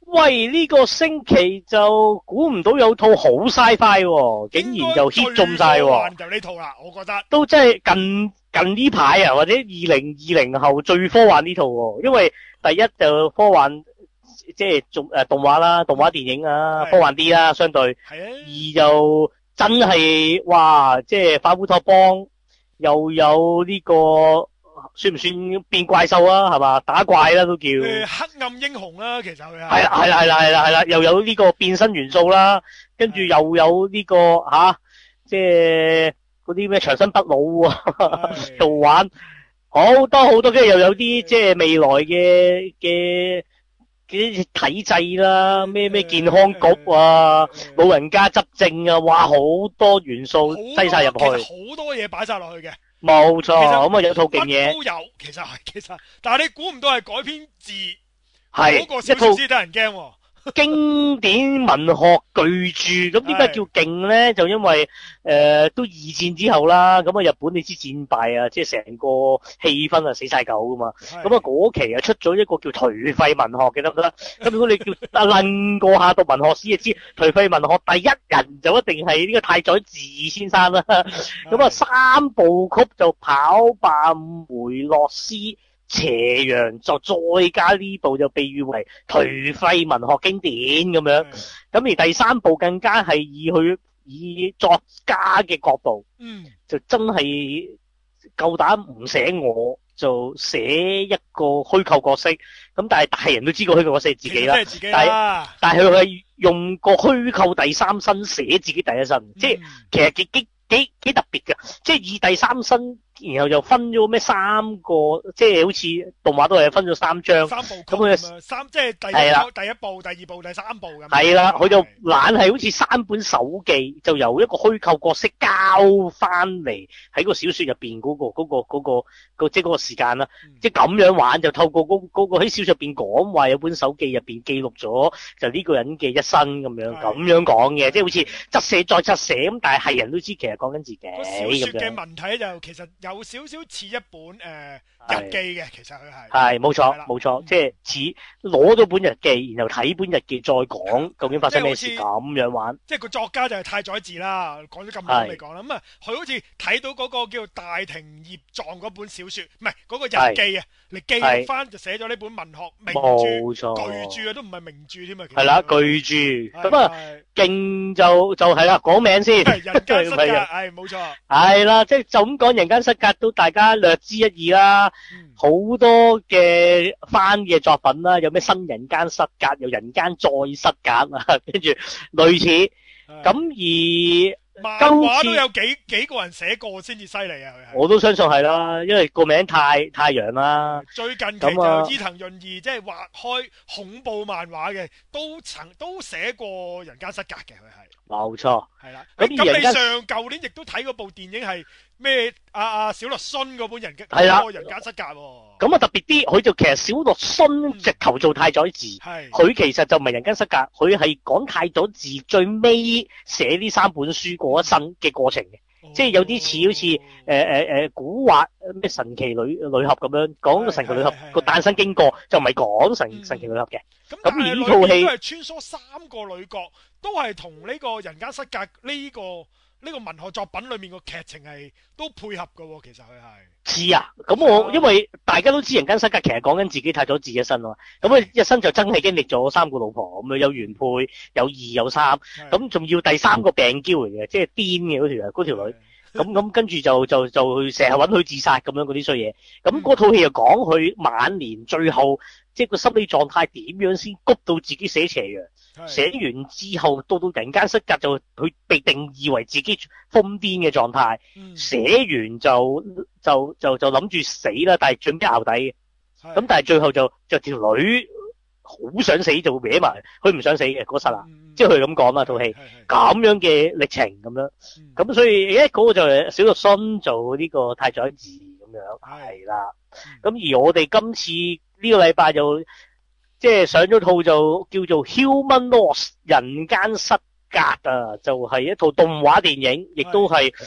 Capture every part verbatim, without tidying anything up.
喂，呢、個星期就估唔到有套好 sci-fi 喎，竟然就 hit 中晒喎。 就呢套啦，我覺得都真係近近呢排啊，或者二零二零後最科幻呢套喎，因為第一就科幻即係做誒動畫啦，動畫電影啊，科幻啲啦，相對。 係啊。 二就真係哇，即係反烏托邦，又有呢、個算唔算變怪獸啊？係嘛，打怪啦都叫。 誒黑暗英雄啦，其實佢係。 係啦係啦係啦係啦係啦，又有呢個變身元素啦，跟住又有呢、個吓、啊，即係嗰啲咩長生不老啊，度玩好多好多，跟住又有啲即係未來嘅嘅嘅體制啦，咩咩健康局啊，老人家執政啊，哇好多元素擠晒入去， 其實好多嘢擺晒落去嘅。 冇錯， 其實咁啊有套勁嘢， 乜都有，其實係其實，但係你估唔到係改編自係嗰個小一套說先得人驚喎。 經典文學巨著，咁點解叫勁咧？就因為誒、呃、都二戰之後啦，咁啊日本你知戰敗啊，即係成個氣氛啊死晒狗噶嘛。咁啊嗰期啊出咗一個叫頹廢文學嘅，得唔得？咁如果你叫啊楞過下讀文學史，就知頹廢文學第一人就一定係呢個太宰治先生啦。咁啊三部曲就跑霸梅洛斯。斜陽就再加呢部就被譽為頹廢文學經典咁樣，咁而第三部更加係以佢以作家嘅角度， 嗯， 就真係夠膽唔寫我，就寫一個虛構角色，咁但係大人都知個虛構角色係自己啦， 自己但係但係佢係用個虛構第三身寫自己第一身，嗯、即係其實幾幾幾幾特別嘅，即係以第三身。然後就分咗咩三個，即係好似動畫都係分咗三章， 三部曲咁佢三即係第一第一部、第二部、第三部咁。 係啦，佢就懶係好似三本手記，就由一個虛構角色交翻嚟喺個小說入邊嗰個嗰、嗰個嗰、嗰個、嗰個、即係嗰個時間啦，嗯、即係咁樣玩就透過嗰、嗰個喺小說入邊講話有本手記入邊記錄咗就呢個人嘅一生咁樣咁樣講嘅，即係好似側寫再側寫咁，但係係人都知其實講緊自己咁樣。 小說嘅文體就其實有少少似一本誒、呃、日記嘅，其實佢係係冇錯冇錯，即係似攞咗本日記，然後睇本日記再講究竟發生咩事咁樣玩。 即係個作家就係太宰治啦，講咗咁耐未講啦。咁啊，佢好似睇到嗰個叫大庭葉藏嗰本小說，唔係嗰個日記啊，嚟記錄翻就寫咗呢本文學名著巨著啊，都唔係名著添啊。係啦， 巨著咁啊，勁就就係啦，講名先。 人間失格，係冇錯。 係啦，即係就咁講，人間失格都大家略知一二啦。好、嗯、多嘅翻嘅作品啦，有咩新人間失格，有人間再失格啊，跟住類似。咁而漫畫都有幾幾個人寫過先至犀利啊！ 我都相信係啦，因為個名太太陽啦。 最近期就伊藤潤二即係畫開恐怖漫畫嘅，都曾都寫過人間失格嘅，佢係。冇錯， 係啦。咁咁你上舊年亦都睇嗰部電影係咩？阿阿小栗旬嗰本人嘅嗰個人間失格喎。咁啊特別啲，佢就其實小栗旬直頭做太宰治，佢、嗯、其實就唔係人間失格，佢係講太宰治最尾寫呢三本書過一生嘅過程嘅。哦、即係有啲似好似誒誒誒古惑咩神奇女女俠咁樣講個神奇女俠個誕生經過，就唔係講神、嗯、神奇女俠嘅。咁而呢套戲都係穿梭三個女角，都係同呢個人間失格呢、這個呢、這個文學作品裏面個劇情係都配合㗎。其實佢係似啊。咁我、啊、因為大家都知人間失格其實講緊自己太咗自己一生啊嘛。咁佢一生就真係經歷咗三個老婆，咁啊有原配，有二有三，咁仲要第三個病嬌嚟嘅，即係癲嘅嗰條嗰條女。咁咁跟住就就就成日搵佢自殺咁樣嗰啲衰嘢。咁嗰套戲又講佢晚年最後即係個心理狀態點樣先谷到自己寫斜陽。寫完之後到到人間失格就佢被定義為自己瘋癲嘅狀態。寫、嗯、完就就就就諗住死啦，但係準備淆底嘅。咁但係最後就就條女好想死就搲埋，佢唔想死嘅嗰剎那，即係佢咁講啦套戲，咁樣嘅歷程咁樣。咁、嗯、所以誒嗰、那個就係小栗旬做呢個太宰治咁樣，係啦。咁、嗯、而我哋今次呢個禮拜就即係上咗套就叫做 Human Loss 人間失格啊，就係、是、一套動畫電影，亦都係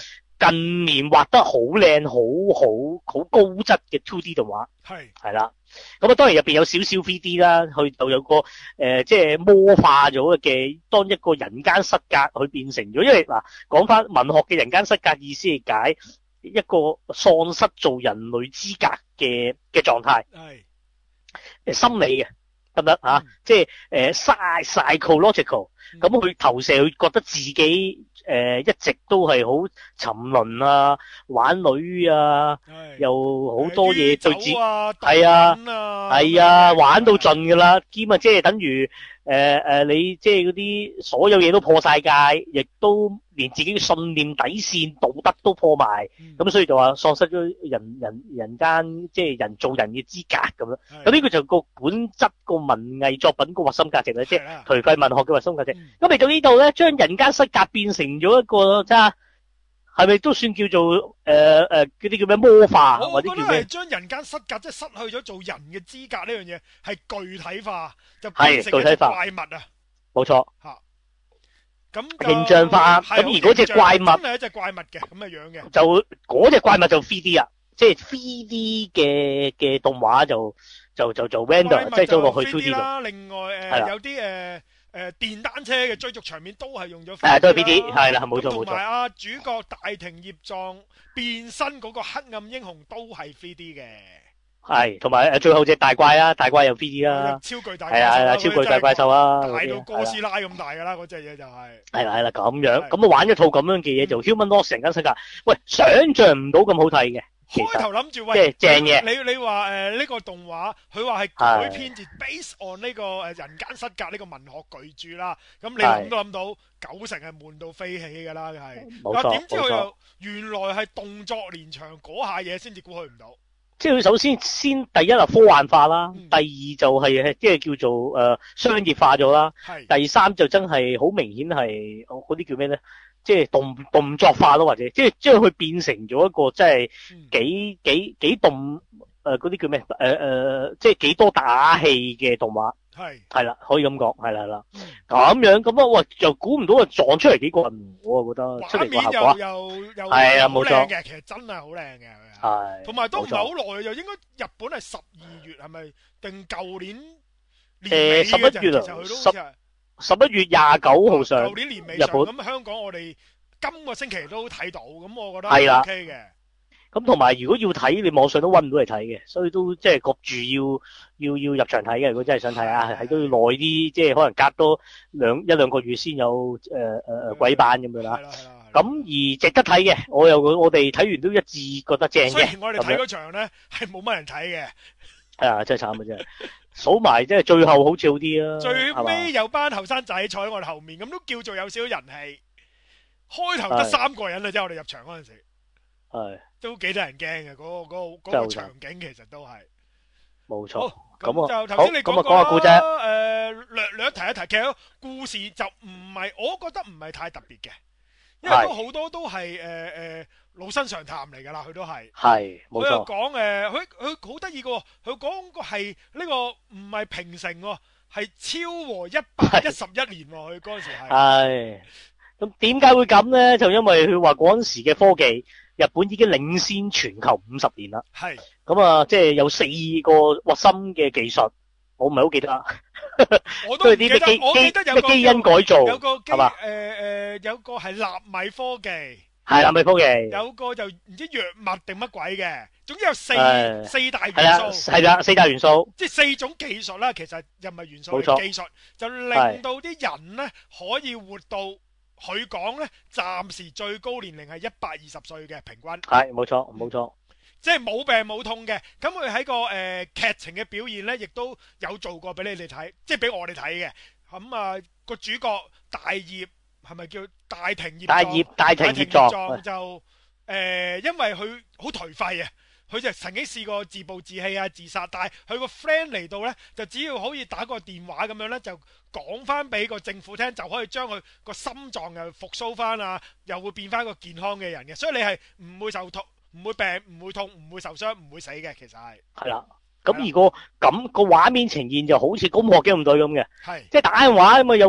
近年畫得好靚、好好好高質嘅 two D 動畫， 係係啦。咁啊，當然入邊有少少 three D 啦，去到有個誒、呃，即係魔化咗嘅，當一個人間失格去變成咗。因為嗱，講翻文學嘅人間失格意思係解一個喪失做人類資格嘅嘅狀態， 係誒心理嘅。得唔得啊？即係誒 psychological，咁佢投射佢覺得自己誒、呃、一直都係好沉淪啊，玩女啊，又好多嘢對自係啊係啊，啊玩到盡㗎啦，兼啊即係等於誒誒、呃、你即係嗰啲所有嘢都破晒戒，亦都連自己嘅信念底線道德都破埋，咁、嗯、所以就話喪失咗人人人間即係人做人嘅資格咁樣。咁呢個就個本質個文藝作品個核心價值咧，即係頹廢文學嘅核心價值。咁嚟到呢度咧，將人間失格變成咗一個即係係咪都算叫做誒誒嗰啲叫咩魔化？ 我覺得係將人間失格即係失去咗做人嘅資格呢樣嘢係具體化，就變成一隻怪物啊！ 冇錯嚇。咁形象化，咁而嗰隻怪物真係一隻怪物嘅咁嘅樣嘅， 就嗰隻怪物就 three D 啊，即係 three D 嘅嘅動畫就就就就 render 即係做落去 two D 啦。另外誒有啲誒誒電單車嘅追逐場面都係用咗， 誒都係 three D 係啦，冇錯冇錯。 同埋啊主角大庭葉壯變身嗰個黑暗英雄都係 three D 嘅。 係，同埋誒最後隻大怪啊，大怪有 three D 啦， 超巨大怪獸， 係啊係啊，超巨大怪獸啊， 大到哥斯拉咁大噶啦，嗰隻嘢就係。係啦係啦，咁樣，咁啊玩一套咁樣嘅嘢就 Human Loss 人間失格，喂，想象唔到咁好睇嘅。 開頭諗住喂， 即係正嘢。 你你話誒呢個動畫，佢話係改編自 base on 呢個誒人間失格呢個文學巨著啦，咁你諗都諗到九成係悶到飛起噶啦，係。 冇錯。 點知佢又原來係動作連場嗰下嘢，先至估佢唔到。 即係佢首先先第一係科幻化啦，嗯、第二就係即係叫做誒、呃、商業化咗啦，第三就真係好明顯係嗰啲叫咩咧？即係動動作化咯，或者即係將佢變成咗一個即係幾、嗯、幾幾動誒嗰啲叫咩？誒、呃、誒、呃、即係幾多打戲嘅動畫。係係啦，可以咁講，係啦係啦，咁、嗯、樣咁啊，喂，又估唔到啊，撞出嚟幾個人，我啊覺得出嚟個效果又又又係啊，冇錯嘅，其實真係好靚嘅， 係， 同埋都唔係好耐，又應該日本係十二月係咪定舊年年尾十一月啊，十十一月廿九號上， 舊年年尾上，日本咁香港我哋今個星期都睇到，咁我覺得係 OK 嘅。 咁同埋如果要睇，你網上都搵唔到嚟睇嘅，所以都即係焗住要要要入場睇嘅。如果真係想睇啊，係都要耐啲，即係可能隔多兩一兩個月先有誒誒誒鬼版咁樣啦。咁而值得睇嘅，我又我哋睇完都一致覺得正嘅。雖然我哋睇嗰場咧係冇乜人睇嘅。 係啊，真係慘啊真係。數埋即係最後好似好啲啊。 最尾有班後生仔坐喺我哋後面，咁都叫做有少少人氣。開頭得三個人啊，即係我哋入場嗰陣時。 係。都幾得人驚嘅，嗰個嗰個嗰個場景其實都係冇錯。 咁就頭先你講過啦，誒略略提一提，其實故事就唔係，我覺得唔係太特別嘅，因為都好多都係誒誒老生常談嚟㗎啦，佢都係。係冇錯。佢又講誒，佢佢好得意嘅喎，佢講個係呢個唔係平成喎，係昭和一百一十一年喎，佢嗰陣時係。係。 咁點解會咁咧？就因為佢話嗰陣時嘅科技。日本已經領先全球五十年啦，係咁啊，即係有四個核心嘅技術，我唔係好記得啦。 我都唔記得，我記得有個基因改造， 有個基誒誒，有個係納米科技， 係納米科技， 有個就唔知藥物定乜鬼嘅，總之有四四大元素， 係啦，四大元素， 即係四種技術啦。其實又唔係元素，係技術，就令到啲人咧可以活到。佢講咧，暫時最高年齡係一百二十歲嘅平均。 係冇錯，冇錯， 即係冇病冇痛嘅。咁佢喺個誒劇情嘅表現咧，亦都有做過俾你哋睇，即係俾我哋睇嘅。咁啊，個主角大葉係咪叫大庭葉？大葉大庭葉壯就誒，因為佢好頹廢啊。佢就曾經試過自暴自棄啊、自殺，但係佢個 friend 嚟到呢，就只要可以打個電話咁樣呢，就講翻俾個政府聽，就可以將佢個心臟又復甦翻啊，又會變翻個健康嘅人嘅，所以你係唔會受痛、唔會病、唔會痛、唔會受傷、唔會死嘅，其實係。係啦，咁如果咁個畫面呈現就好似《攻殼機動隊》咁嘅，係即係打電話咁啊有。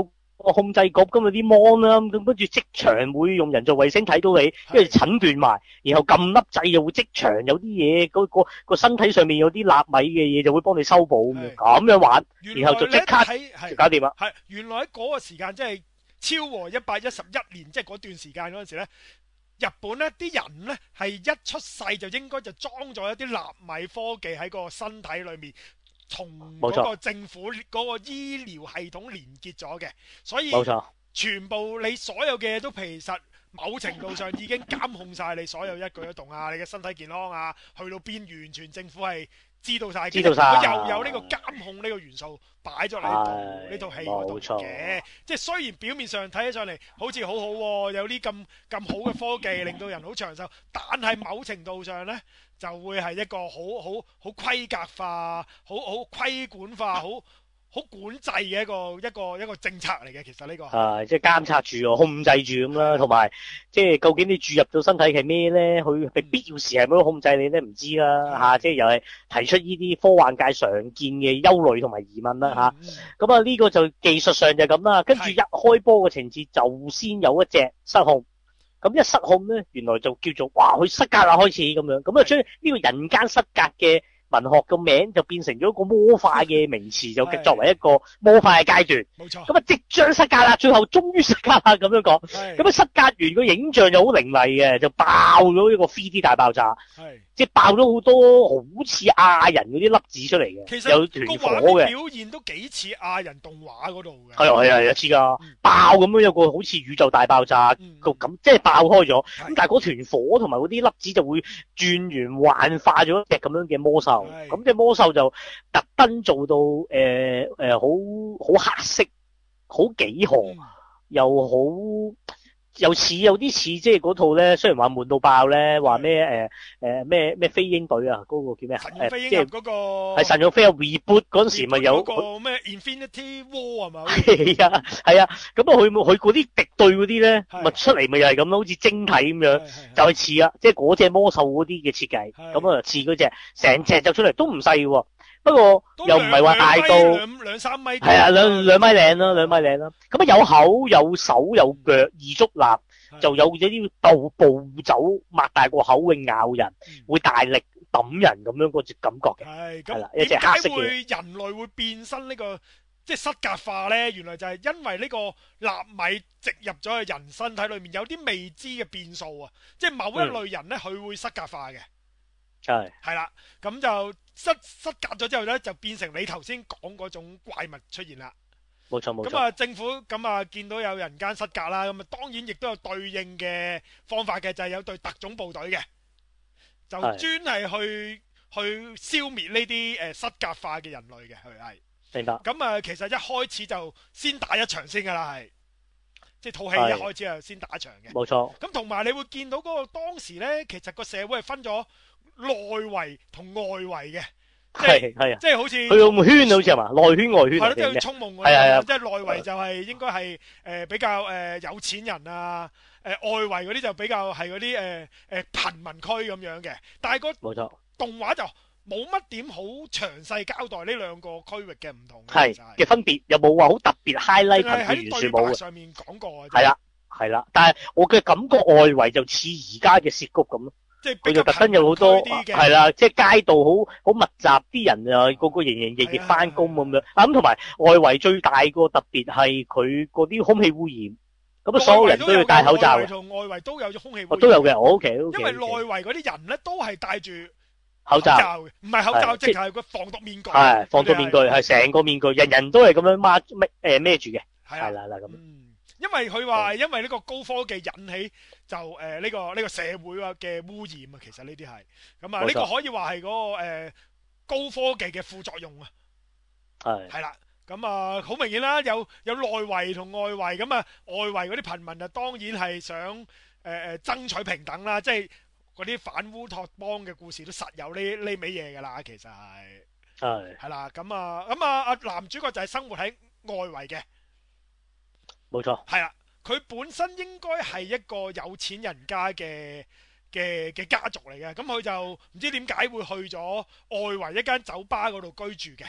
個控制局咁啊啲 mon 啦，咁跟住即場會用人造衛星睇到你，跟住診斷埋，然後撳粒掣又會即場有啲嘢，嗰個個身體上面有啲納米嘅嘢就會幫你修補咁樣，咁樣玩，然後就即刻就搞掂啦。 係原來喺嗰個時間即係昭和一百一十一年，即係嗰段時間嗰陣時咧，日本咧啲人咧係一出世就應該就裝咗一啲納米科技喺個身體裏面。同嗰個政府嗰個醫療系統連結咗嘅，所以全部你所有嘅嘢都其實某程度上已經監控晒你所有一舉一動啊，你嘅身體健康啊，去到邊完全政府係知道晒， 知道晒， 又有呢個監控呢個元素擺咗喺度呢套戲嗰度嘅，即係雖然表面上睇起上嚟好似好好、啊，有啲咁咁好嘅科技令到人好長壽，但係某程度上呢。就會係一個好好好規格化、好好規管化、好好管制嘅一個一個一個政策嚟嘅。其實呢個係即係監察住、控制住咁啦，同埋即係究竟你注入到身體係咩咧？佢必要時係咪都控制你咧？唔知啦嚇，即係又係提出呢啲科幻界常見嘅憂慮同埋疑問啦嚇。咁啊呢個就技術上就咁啦，跟住一開波嘅情節就先有一隻失控。咁一失控咧，原來就叫做哇，佢失格啦開始咁樣，咁啊將呢個人間失格嘅文學個名就變成咗一個魔化嘅名詞，就作為一個魔化嘅階段。 冇錯。 咁啊即將失格啦，最後終於失格啦咁樣講。咁啊失格完個影像又好凌厲嘅，就爆咗一個 三 D 大爆炸。係。即係爆咗好多好似亞人嗰啲粒子出嚟嘅。其實有團火嘅。 表現都幾似亞人動畫嗰度嘅。 係啊係啊係啊似㗎，爆咁樣有個好似宇宙大爆炸個咁，即係爆開咗。咁但係嗰團火同埋嗰啲粒子就會轉圓幻化咗一隻咁樣嘅魔獸。咁隻魔獸就特登做到誒誒好好黑色，好幾何，嗯、又好又似有啲似即係嗰套咧，雖然話悶到爆咧，話咩誒誒咩咩飛鷹隊啊，嗰、嗰個叫咩啊？誒即係嗰個係神勇飛鷹 reboot 嗰陣時咪有嗰個咩 Infinity War 係咪？ 係啊係啊，咁啊佢佢嗰啲敵對嗰啲咧，咪出嚟咪又係咁咯，好似晶體咁樣，就係似啊，即係嗰隻魔獸嗰啲嘅設計，咁啊似嗰隻成隻就出嚟都唔細喎。不過又唔係話大到兩兩三米， 係啊，兩兩米零啦，兩米零啦。咁啊有口有手有腳，二足立，就有咗啲道步走，擘大個口會咬人，嗯、會大力揼人咁樣嗰隻感覺嘅。係咁，一隻黑色嘅。點解會人類會變身呢、呢個即係失格化咧？原來就係因為呢個納米植入咗去人身體裏面，有啲未知嘅變數啊！即係某一類人咧，佢、嗯、會失格化嘅。係係啦，咁就。失失格咗之後咧，就變成你頭先講嗰種怪物出現啦。 冇錯冇錯。 咁啊，政府咁啊見到有人間失格啦，咁啊當然亦都有對應嘅方法嘅，就係、是、有隊特種部隊嘅，就專係去去消滅呢啲誒失格化嘅人類嘅，佢係。 明白。 咁啊，其實一開始就先打一場先噶啦，係，即係套戲一開始就先打一場嘅。冇錯。咁同埋你會見到嗰個當時咧，其實個社會係分咗內圍同外圍嘅， 係係啊， 即係好似佢個圈好似係嘛，內圈外圈係咯，即係充夢嗰啲，即係內圍就係應該係誒比較誒有錢人啊，誒外圍嗰啲就比較係嗰啲誒誒貧民區咁樣嘅，但係個冇錯動畫就冇乜點好詳細交代呢兩個區域嘅唔同係嘅分別，有冇話好特別 highlight 貧富懸殊冇嘅？ 上面講過係啦係啦，但係我嘅感覺外圍就似而家嘅涉谷咁咯。即係佢就特登有好多係啦，即係街道好好密集，啲人啊個個營營役役翻工咁樣。啊咁同埋外圍最大個特別係佢嗰啲空氣污染，咁啊所有人都要戴口罩。 外圍同外圍都有空氣污染。 都有嘅，我 OK OK。 因為內圍嗰啲人咧都係戴住口罩嘅， 唔係口罩，即係個防毒面具。 係防毒面具，係成個面具，人人都係咁樣孖孭誒孭住嘅。係啦啦咁。 因為佢話，因為呢個高科技引起就誒呢、呃這個呢、這個社會嘅污染啊，其實呢啲係咁啊，呢個可以話係嗰個誒、呃、高科技嘅副作用啊。係係啦，咁啊好明顯啦，有有內圍同外圍咁啊，外圍嗰啲貧民啊，當然係想誒誒、呃、爭取平等啦，即係嗰啲反烏托邦嘅故事都實有呢呢味嘢噶啦，其實係係係啦，咁啊咁啊啊男主角就係生活喺外圍嘅。 冇錯， 係啦，佢本身應該係一個有錢人家嘅嘅嘅家族嚟嘅，咁佢就唔知點解會去咗外圍一間酒吧嗰度居住嘅，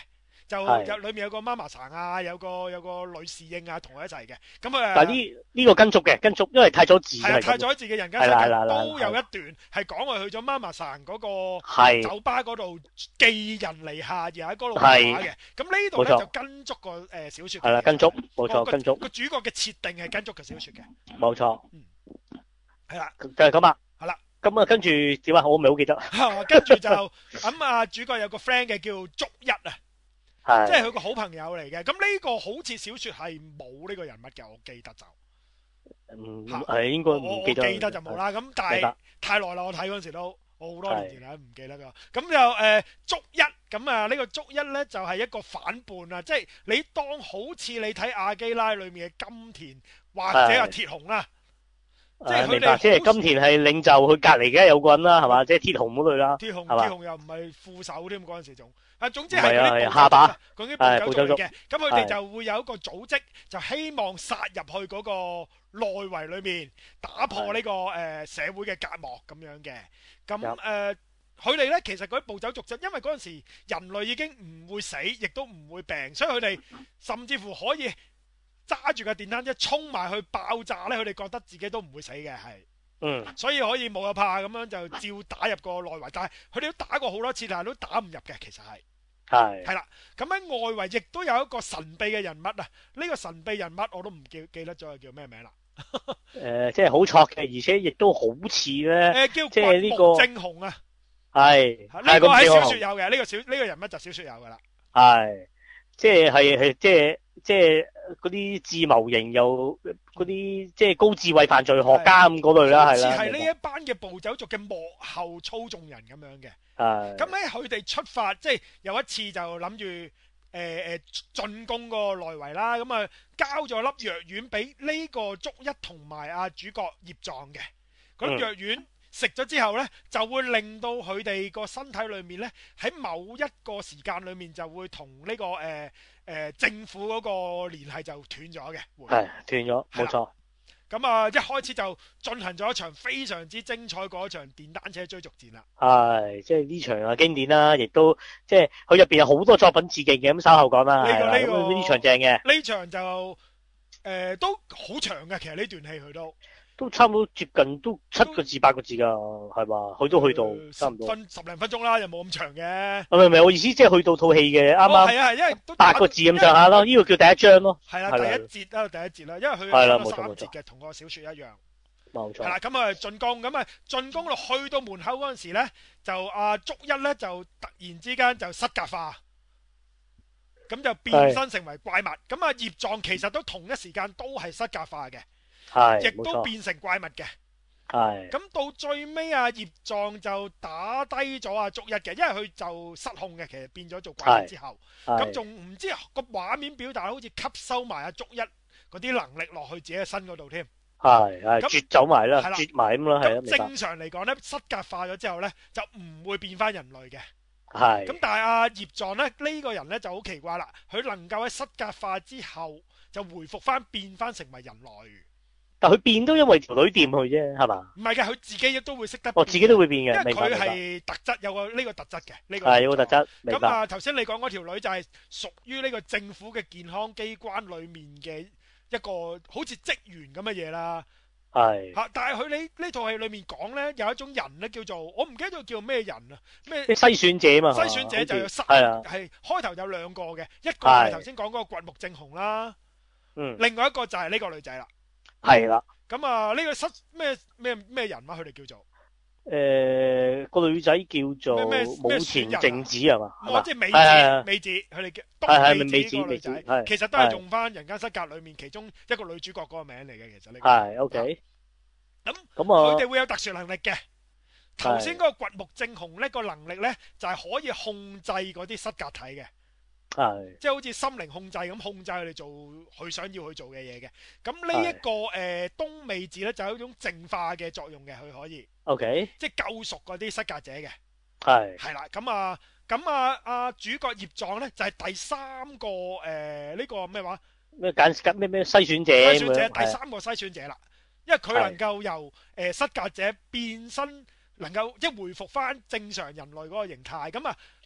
就有裏面有個媽媽桑啊，有個有個女侍應啊，同佢一齊嘅。咁啊， 但係呢呢個跟足嘅，跟足，因為太佐治係啊，太佐治嘅人間失格都有一段係講佢去咗媽媽桑嗰個酒吧嗰度寄人籬下，而喺嗰度畫嘅。咁呢度咧就跟足個誒小説。係啦，跟足，冇錯，跟足。個主角嘅設定係跟足個小説嘅。冇錯。嗯。係啦。就係咁啊。係啦。咁啊，跟住點啊？我唔係好記得。 跟住就咁啊，主角有個 friend 嘅叫足一啊，即係佢個好朋友嚟嘅。咁呢個好似小説係冇呢個人物嘅，我記得就。 嗯，係應該唔記得。 我記得就冇啦。咁但係太耐啦，我睇嗰陣時都我好多年前啦，唔記得㗎。咁就誒足一咁啊，呢個足一咧就係一個反叛啊，即係你當好似你睇阿基拉裏面嘅金田或者阿鐵雄啦。即係佢哋， 即係金田係領袖，佢隔籬嘅有個人啦，係嘛？即係鐵雄嗰類啦， 鐵雄鐵雄又唔係副手添，嗰陣時仲啊，總之係嗰啲下巴， 嗰啲部隊嚟嘅。咁佢哋就會有一個組織，就希望殺入去嗰個內圍裏面，打破呢個誒社會嘅隔膜咁樣嘅。咁誒，佢哋咧其實嗰啲暴走族就因為嗰陣時人類已經唔會死，亦都唔會病，所以佢哋甚至乎可以揸住架電單車衝埋去爆炸咧，佢哋覺得自己都唔會死嘅，係，嗯，所以可以冇有怕咁樣就照打入個內圍，但係佢哋都打過好多次，但係都打唔入嘅，其實係，係，係啦，咁喺外圍亦都有一個神秘嘅人物啊，呢、呢個神秘人物我都唔記記得咗係叫咩名啦， 誒、呃，即係好錯嘅，而且亦都好似咧， 誒叫即係呢個正雄啊， 係， 呢個喺小說有嘅，呢、呢個小呢、呢個人物就小說有噶啦， 係，即係係係即係。即係嗰啲智謀型又嗰啲即係高智慧犯罪學家咁嗰類啦，係啦。好似係呢一班嘅暴走族嘅幕後操縱人咁樣嘅。係。咁咧佢哋出發，即係有一次就諗住誒誒進攻個內圍啦，咁啊交咗粒藥丸俾呢個足一同埋阿主角葉藏嘅。嗰粒藥丸食咗之後咧，就會令到佢哋個身體裏面咧喺某一個時間裏面就會同呢個誒。誒、呃，政府嗰個聯繫就斷咗嘅，係斷咗，冇錯。 咁啊，一開始就進行咗一場非常之精彩嗰場電單車追逐戰啦。 係，即係呢場啊經典啦，亦都即係佢入邊有好多作品致敬嘅，咁稍後講啦。 呢、這個呢個呢場正嘅。 呢場就誒、呃、都好長嘅，其實呢段戲佢都。 都差唔多接近都七個字八個字噶，係嘛？佢都去到、呃、差唔多分十零分鐘啦，又冇咁長嘅。 唔係唔係，我意思即係去到套戲嘅啱啱。係、哦、啊，因為都八個字咁上下咯，呢、這個叫第一章咯。係啦，第一節啦，第一節啦，因為佢有三節嘅，同個小說一樣。冇錯。係啦，咁啊進攻，咁啊進攻落去到門口嗰陣時咧，就阿足一咧就突然之間就失格化，咁就變身成為怪物。咁啊葉藏其實都同一時間都係失格化嘅。係，亦都變成怪物嘅。係，咁到最尾啊，葉藏就打低咗阿足一嘅，因為佢就失控嘅，其實變咗做怪物之後，咁仲唔知個畫面表達好似吸收埋阿足一嗰啲能力落去自己嘅身嗰度添。係，係，絕走埋啦，絕埋咁啦，係啊。咁正常嚟講咧，失格化咗之後咧，就唔會變翻人類嘅。係。咁但係阿葉藏咧，呢個人咧就好奇怪啦，佢能夠喺失格化之後就回復翻變翻成為人類。但佢變都因為條女掂佢啫，係嘛？唔係嘅，佢自己亦都會識得變。哦，自己都會變嘅，因為佢係特質，有個呢個特質嘅呢個。係有個特質。咁啊，頭先你講嗰條女就係屬於呢個政府嘅健康機關裡面嘅一個好似職員咁嘅嘢啦。係。嚇！但係佢呢呢套戲裡面講咧，有一種人咧叫做我唔記得咗叫咩人啊？咩？篩選者嘛。篩選者就有三係啊，係開頭有兩個嘅，一個係頭先講嗰個掘木正雄啦。嗯。另外一個就係呢個女仔啦。係啦，咁啊呢個失咩咩咩人啊？佢哋叫做誒個女仔叫做武田靜子係嘛？哦，即係美子，美子佢哋叫係係美子個女仔，其實都係用翻《人間失格》裏面其中一個女主角嗰個名嚟嘅，其實呢個係 OK。咁咁啊，佢哋會有特殊能力嘅。頭先嗰個掘木正雄呢個能力咧，就係可以控制嗰啲失格體嘅。係，即係好似心靈控制咁控制佢哋做佢想要去做嘅嘢嘅。咁呢一個誒東美子咧就有一種淨化嘅作用嘅，佢可以。OK。即係救贖嗰啲失格者嘅。係。係啦，咁啊，咁啊，阿主角葉藏咧就係第三個誒呢個咩話？咩揀咩咩篩選者？篩選者第三個篩選者啦，因為佢能夠由誒失格者變身，能夠即係回復翻正常人類嗰個形態。咁啊。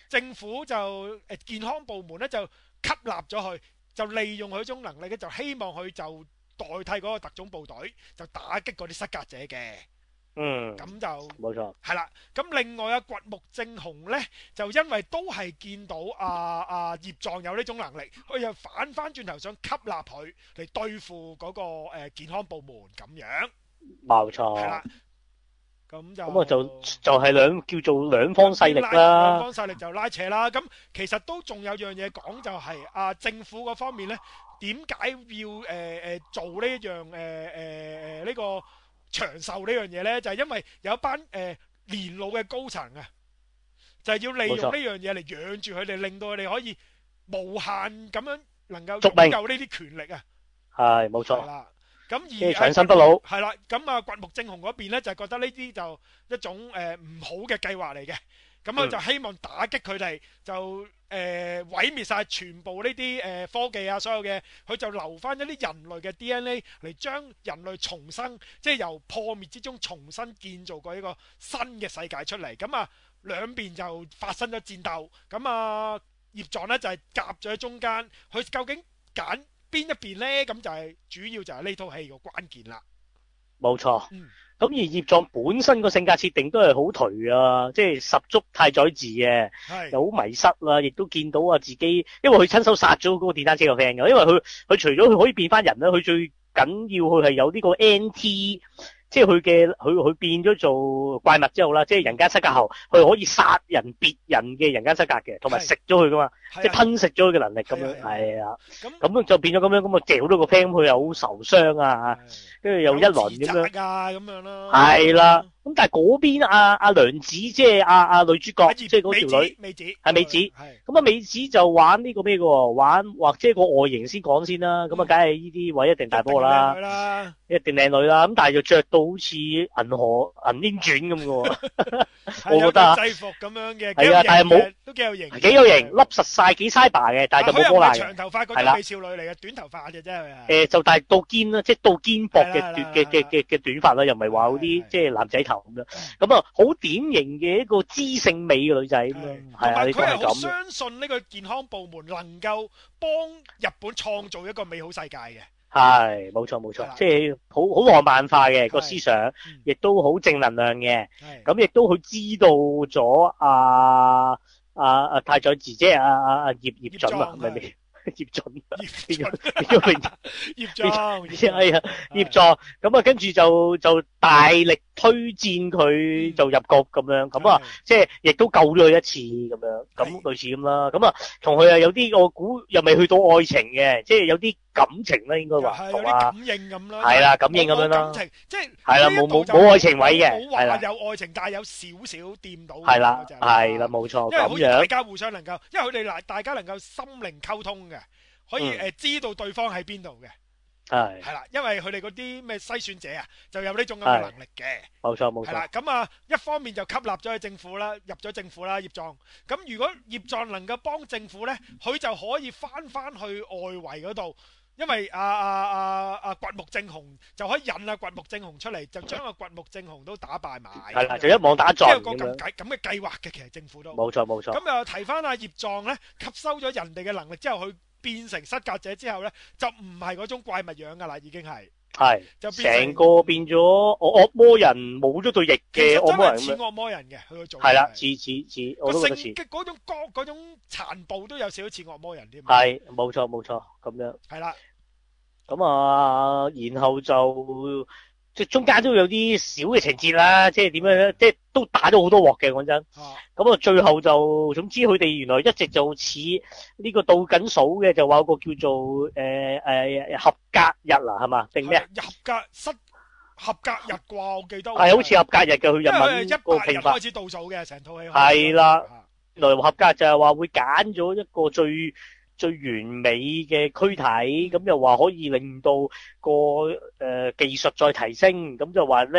政府就誒健康部門咧就吸納咗佢，就利用佢種能力咧，就希望佢就代替嗰個特種部隊，就打擊嗰啲失格者嘅。 嗯， 咁就冇錯， 係啦。咁另外啊，掘木正雄咧，就因為都係見到啊啊葉壯有呢種能力，佢又反翻轉頭想吸納佢嚟對付嗰個誒健康部門咁樣。 冇錯。 係啦。咁就咁啊就就係兩叫做兩方勢力啦。兩方勢力就拉扯啦。咁其實都仲有樣嘢講，就係啊政府嗰方面咧，點解要誒誒做呢一樣誒誒誒呢個長壽呢樣嘢咧？就係因為有一班誒年老嘅高層啊，就係要利用呢樣嘢嚟養住佢哋，令到佢哋可以無限咁樣能夠擁有呢啲權力啊。 係冇錯。 係啦。咁而長生不老係啦，咁啊掘木正雄嗰邊咧就覺得呢啲就一種誒唔好嘅計劃嚟嘅，咁佢就希望打擊佢哋，就誒毀滅晒全部呢啲誒科技啊，所有嘅，佢就留翻一啲人類嘅 D N A 嚟將人類重生，即係由破滅之中重新建造過一個新嘅世界出嚟。咁啊兩邊就發生咗戰鬥，咁啊葉壯咧就係夾咗喺中間，佢究竟揀邊一邊呢？咁就係主要就係呢套戲個關鍵啦。冇錯。咁、嗯、 而葉壯本身個性格設定都係好頹啊，即係十足太宰治嘅，又好迷失啦，亦都見到啊自己，因為佢親手殺咗嗰個電單車個 friend 嘅，因為佢佢除咗佢可以變翻人啦，佢最緊要佢係有呢個 N T。即係佢嘅佢佢變咗做怪物之後啦，即係人間失格後，佢可以殺人別人嘅人間失格嘅，同埋食咗佢噶嘛，即係吞食咗佢嘅能力咁樣，係啊，咁咁就變咗咁樣，咁啊掉咗個 friend，佢又好受傷啊，跟住又一輪咁樣， 啊咁樣咯， 係啦，咁但係嗰邊阿阿娘子即係阿阿女主角，即係嗰條女， 美子係美子，咁啊美子就玩呢個咩嘅，玩或者個外形先講先啦，咁啊梗係呢啲位一定大波啦，一定靚女啦，咁但係就着到好似銀河銀鷹傳咁嘅，我覺得啊， 制服咁樣嘅， 係啊，但係冇都幾有型， 幾有型，笠實晒幾 cyber 嘅，但係就冇波瀾嘅， 長頭髮嗰種美少女嚟嘅，短頭髮嘅啫係啊， 誒就但係到肩啦，即係到肩膊嘅短嘅嘅嘅嘅短髮啦，又唔係話嗰啲即係男仔頭咁樣，咁啊好典型嘅一個知性美嘅女仔咁樣，係啊，你都係咁。佢係好相信呢個健康部門能夠幫日本創造一個美好世界嘅。係，冇錯冇錯，即係好好浪漫化嘅個思想，亦都好正能量嘅。咁亦都佢知道咗阿阿阿太宰治，即係阿阿阿葉葉準啊，係咪咪？葉準，葉準，葉準，葉壯，係啊，葉壯。咁啊，跟住就就大力推薦佢就入局咁樣，咁啊，即係亦都救咗佢一次咁樣，咁類似咁啦。咁啊，同佢啊有啲我估又未去到愛情嘅，即係有啲感情啦，應該話同啊，感應咁啦，係啦，感應咁樣啦，感情即係係啦，冇冇冇愛情位嘅，係啦，有愛情但係有少少掂到，係啦，係啦，冇錯，因為好似大家互相能夠，因為佢哋嗱大家能夠心靈溝通嘅。可以誒知道對方喺邊度嘅，係係啦，因為佢哋嗰啲咩篩選者啊，就有呢種咁嘅能力嘅，冇錯冇錯。係啦，咁啊一方面就吸納咗去政府啦，入咗政府啦，葉壯。咁如果葉壯能夠幫政府咧，佢就可以翻翻去外圍嗰度，因為啊啊啊啊掘木正雄就可以引啊掘木正雄出嚟，就將個掘木正雄都打敗埋。係啦，就一網打盡咁樣。即係個咁計咁嘅計劃嘅，其實政府都冇錯冇錯。咁又提翻阿葉壯咧，吸收咗人哋嘅能力之後，佢變成失格者之後咧，就唔係嗰種怪物樣噶啦，已經係係就成個變咗惡魔人，冇咗對翼嘅惡魔人咁樣。似惡魔人嘅，佢個做係啦，似似似，我都覺得似。嗰種光嗰種殘暴都有少少似惡魔人添。係，冇錯冇錯，咁樣。係啦，咁啊，然後就。即係中間都有啲小嘅情節啦，即係點樣咧？即係都打咗好多鑊嘅，講真。咁啊，最後就總之佢哋原來一直就似呢個倒緊數嘅，就話有個叫做誒誒、呃、合格日啦，係嘛？定咩啊？合格失合格日啩，我記得。係好似合格日嘅，佢日文個評法。開始倒數嘅，成套戲。係啦，原來合格就係話會揀咗一個最。最完美嘅軀體，咁又話可以令到個誒、呃、技術再提升，咁就話咧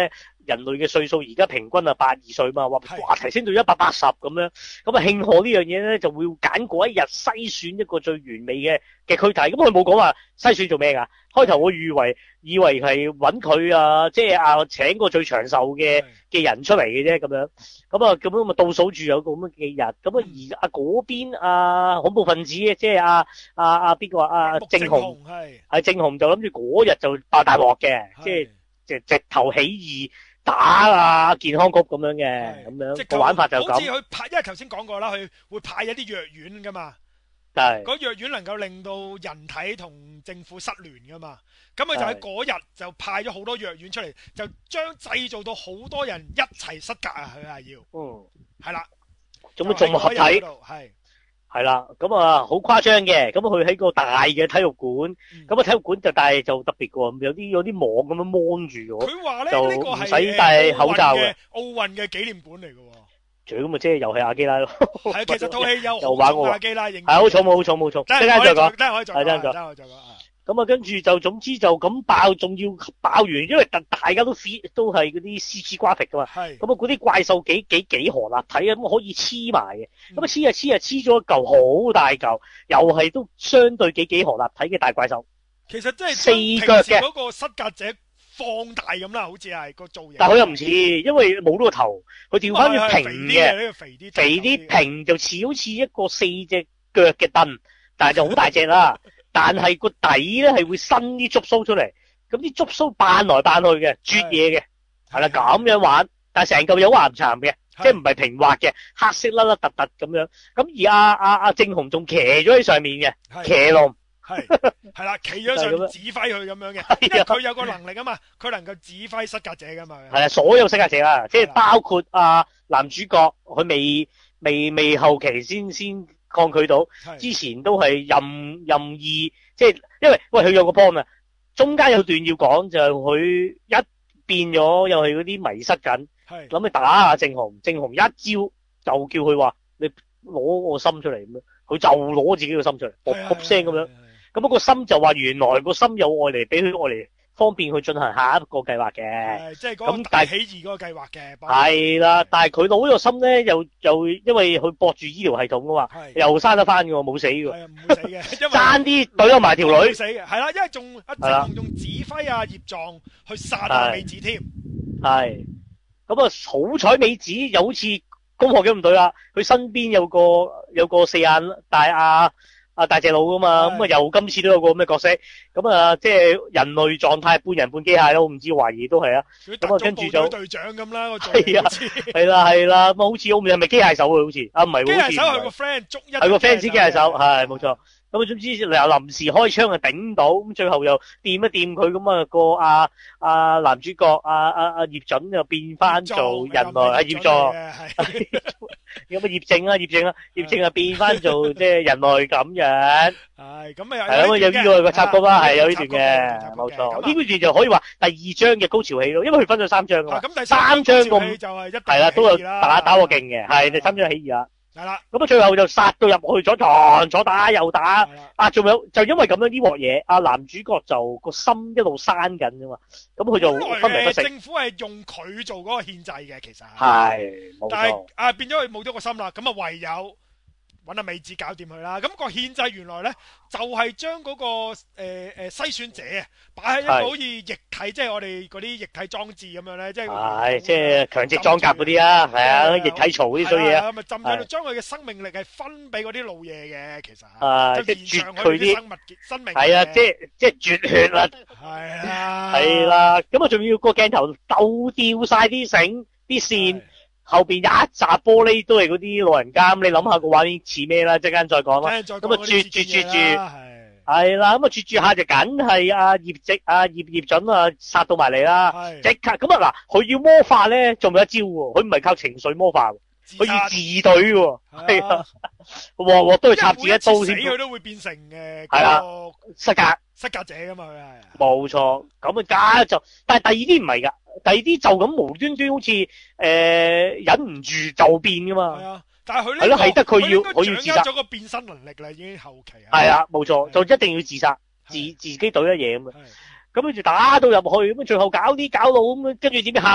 人類嘅歲數而家平均啊八二歲嘛，話哇提升到一百八十咁樣，咁啊慶賀呢樣嘢咧就會揀嗰一日篩選一個最完美嘅嘅軀體，咁佢冇講話篩選做咩㗎？開頭我以為以為係揾佢啊，即係啊請個最長壽嘅嘅人出嚟嘅啫咁樣，咁啊咁樣咪倒數住有個咁嘅日，咁啊而啊嗰邊啊恐怖分子即係啊啊啊邊個啊正雄係係正雄就諗住嗰日就爆大鑊嘅，即係直直頭起義打啊健康局咁樣嘅，咁樣個玩法就咁。 好似佢派，因為頭先講過啦，佢會派一啲藥丸噶嘛。 係。 嗰藥丸能夠令到人體同政府失聯噶嘛。咁佢就喺嗰日就派咗好多藥丸出嚟，就將製造到好多人一齊失格啊！佢係要。嗯。係啦。咁啊，仲合體。係。 係啦，咁啊好誇張嘅，咁佢喺個大嘅體育館，咁、嗯、啊體育館就但係就特別嘅，有啲有啲網咁樣蒙住咗， 佢話咧呢個係唔使戴口罩嘅奧運嘅紀念館嚟嘅。 除咗咁啊，即係又係阿基拉咯。係其實套戲有又玩阿基拉，係好重冇好重冇重， 一陣間再講，一陣間可以再講，一陣間可以再講。 咁啊，跟住就總之就咁爆，仲要爆完，因為大大家都 C 都係嗰啲 C G graphic 噶嘛。係。咁啊，嗰啲怪獸幾幾幾何立體啊，咁可以黐埋嘅。咁啊黐啊黐啊黐咗一嚿好大嚿，又係都相對幾幾何立體嘅大怪獸。 其實真係四腳嘅嗰個失格者放大咁啦，好似係個造型。 但係佢又唔似，因為冇咗個頭，佢調翻轉平嘅。 肥啲。 肥啲平就似好似一個四隻腳嘅凳，但係就好大隻啦。但係個底咧係會伸啲觸鬚出嚟，咁啲觸鬚扮來扮去嘅，啜嘢嘅，係啦咁樣玩，但係成嚿有岩巉嘅，即係唔係平滑嘅，黑色甩甩突突咁樣。咁而阿阿阿正雄仲騎咗喺上面嘅，騎龍係係啦，企咗上面指揮佢咁樣嘅，因為佢有個能力啊嘛，佢能夠指揮失格者噶嘛。係啊， 所有失格者啦，即係包括阿男主角，佢未未未後期先先。抗拒到，之前都係任任意，即係因為喂佢有個 point 啊，中間有段要講就係佢一變咗又係嗰啲迷失緊，諗住打下正雄，正雄一招就叫佢話你攞我心出嚟咁樣，佢就攞自己個心出嚟，卜卜聲咁樣，咁嗰個心就話原來個心有愛嚟俾佢愛嚟。方便去進行下一個計劃嘅， 即係嗰個大起義嗰個計劃嘅。 係啦，但係佢攞呢個心咧，又又因為佢駁住醫療系統噶嘛，又生得翻嘅喎，冇死嘅。 係啊，唔會死嘅， 爭啲懟咗埋條女。 冇死嘅，係啦，因為仲阿正雄仲指揮阿葉壯去殺阿美子添。係， 咁啊好彩美子又好似攻殼機咁隊啦，佢身邊有個有個四眼大阿。啊大隻佬噶嘛，咁啊又今次都有個咁嘅角色，咁啊即係人類狀態半人半機械咯，唔知懷疑都係啊。咁啊跟住就隊長咁啦， 係啊，係啦係啦，咁好似好唔係咪機械手啊？好似啊唔係， 機械手係個 friend 捉一係個 fans 機械手，係冇錯。咁啊總之又臨時開槍啊頂到，咁最後又掂一掂佢，咁啊個阿阿男主角阿阿阿葉準又變翻做人類啊葉壯，有乜葉正啊葉正啊葉正啊變翻做即係人類咁樣。係咁啊係咁啊有呢個個插曲啦，係有呢段嘅，冇錯。呢段就可以話第二章嘅高潮戲咯，因為佢分咗三章噶嘛。咁第三章咁係啦，都有打打過勁嘅，係第三章起義啦。係啦，咁啊最後就殺到入去咗堂，左打右打，啊仲有就因為咁樣呢鑊嘢，阿男主角就個心一路生緊噶嘛，咁佢就分明不食。 政府係用佢做嗰個獻祭嘅，其實係， 但係啊變咗佢冇咗個心啦，咁啊唯有揾阿美子搞掂佢啦。咁個獻祭原來咧就係將嗰個誒誒篩選者啊擺喺一個好似液體，即係我哋嗰啲液體裝置咁樣咧，即係係即係強直裝甲嗰啲啊，係啊，液體槽嗰啲衰嘢啊， 咁啊浸喺度，將佢嘅生命力係分俾嗰啲老嘢嘅，其實啊，即係絕佢啲生物生命係啊，即係即係絕血啦，係啊，係啦，咁啊仲要個鏡頭鬥掉晒啲繩啲線。後邊有一紮玻璃都係嗰啲老人家，咁你諗下個畫面似咩啦？陣間再講啦。咁啊，絕絕絕絕，係啦，咁啊，絕絕下就梗係阿葉直、阿葉葉準啊，殺到埋嚟啦。即刻咁啊嗱，佢要魔法咧，仲有一招喎，佢唔係靠情緒魔法，佢要自隊喎。係啊，鑊鑊都要插自己一刀先。 死佢都會變成嘅。 係啦，失格失格者噶嘛，佢係。 冇錯，咁啊加就，但係第二啲唔係噶。第二啲就咁無端端好似誒、呃、忍唔住就變噶嘛，係啊， 但係佢呢係咯，係得佢要佢要自殺咗個變身能力啦，已經後期係啊，冇錯，就一定要自殺，自自己懟一嘢咁啊，咁跟住打到入去，咁最後搞啲搞到咁，跟住點樣喊啊？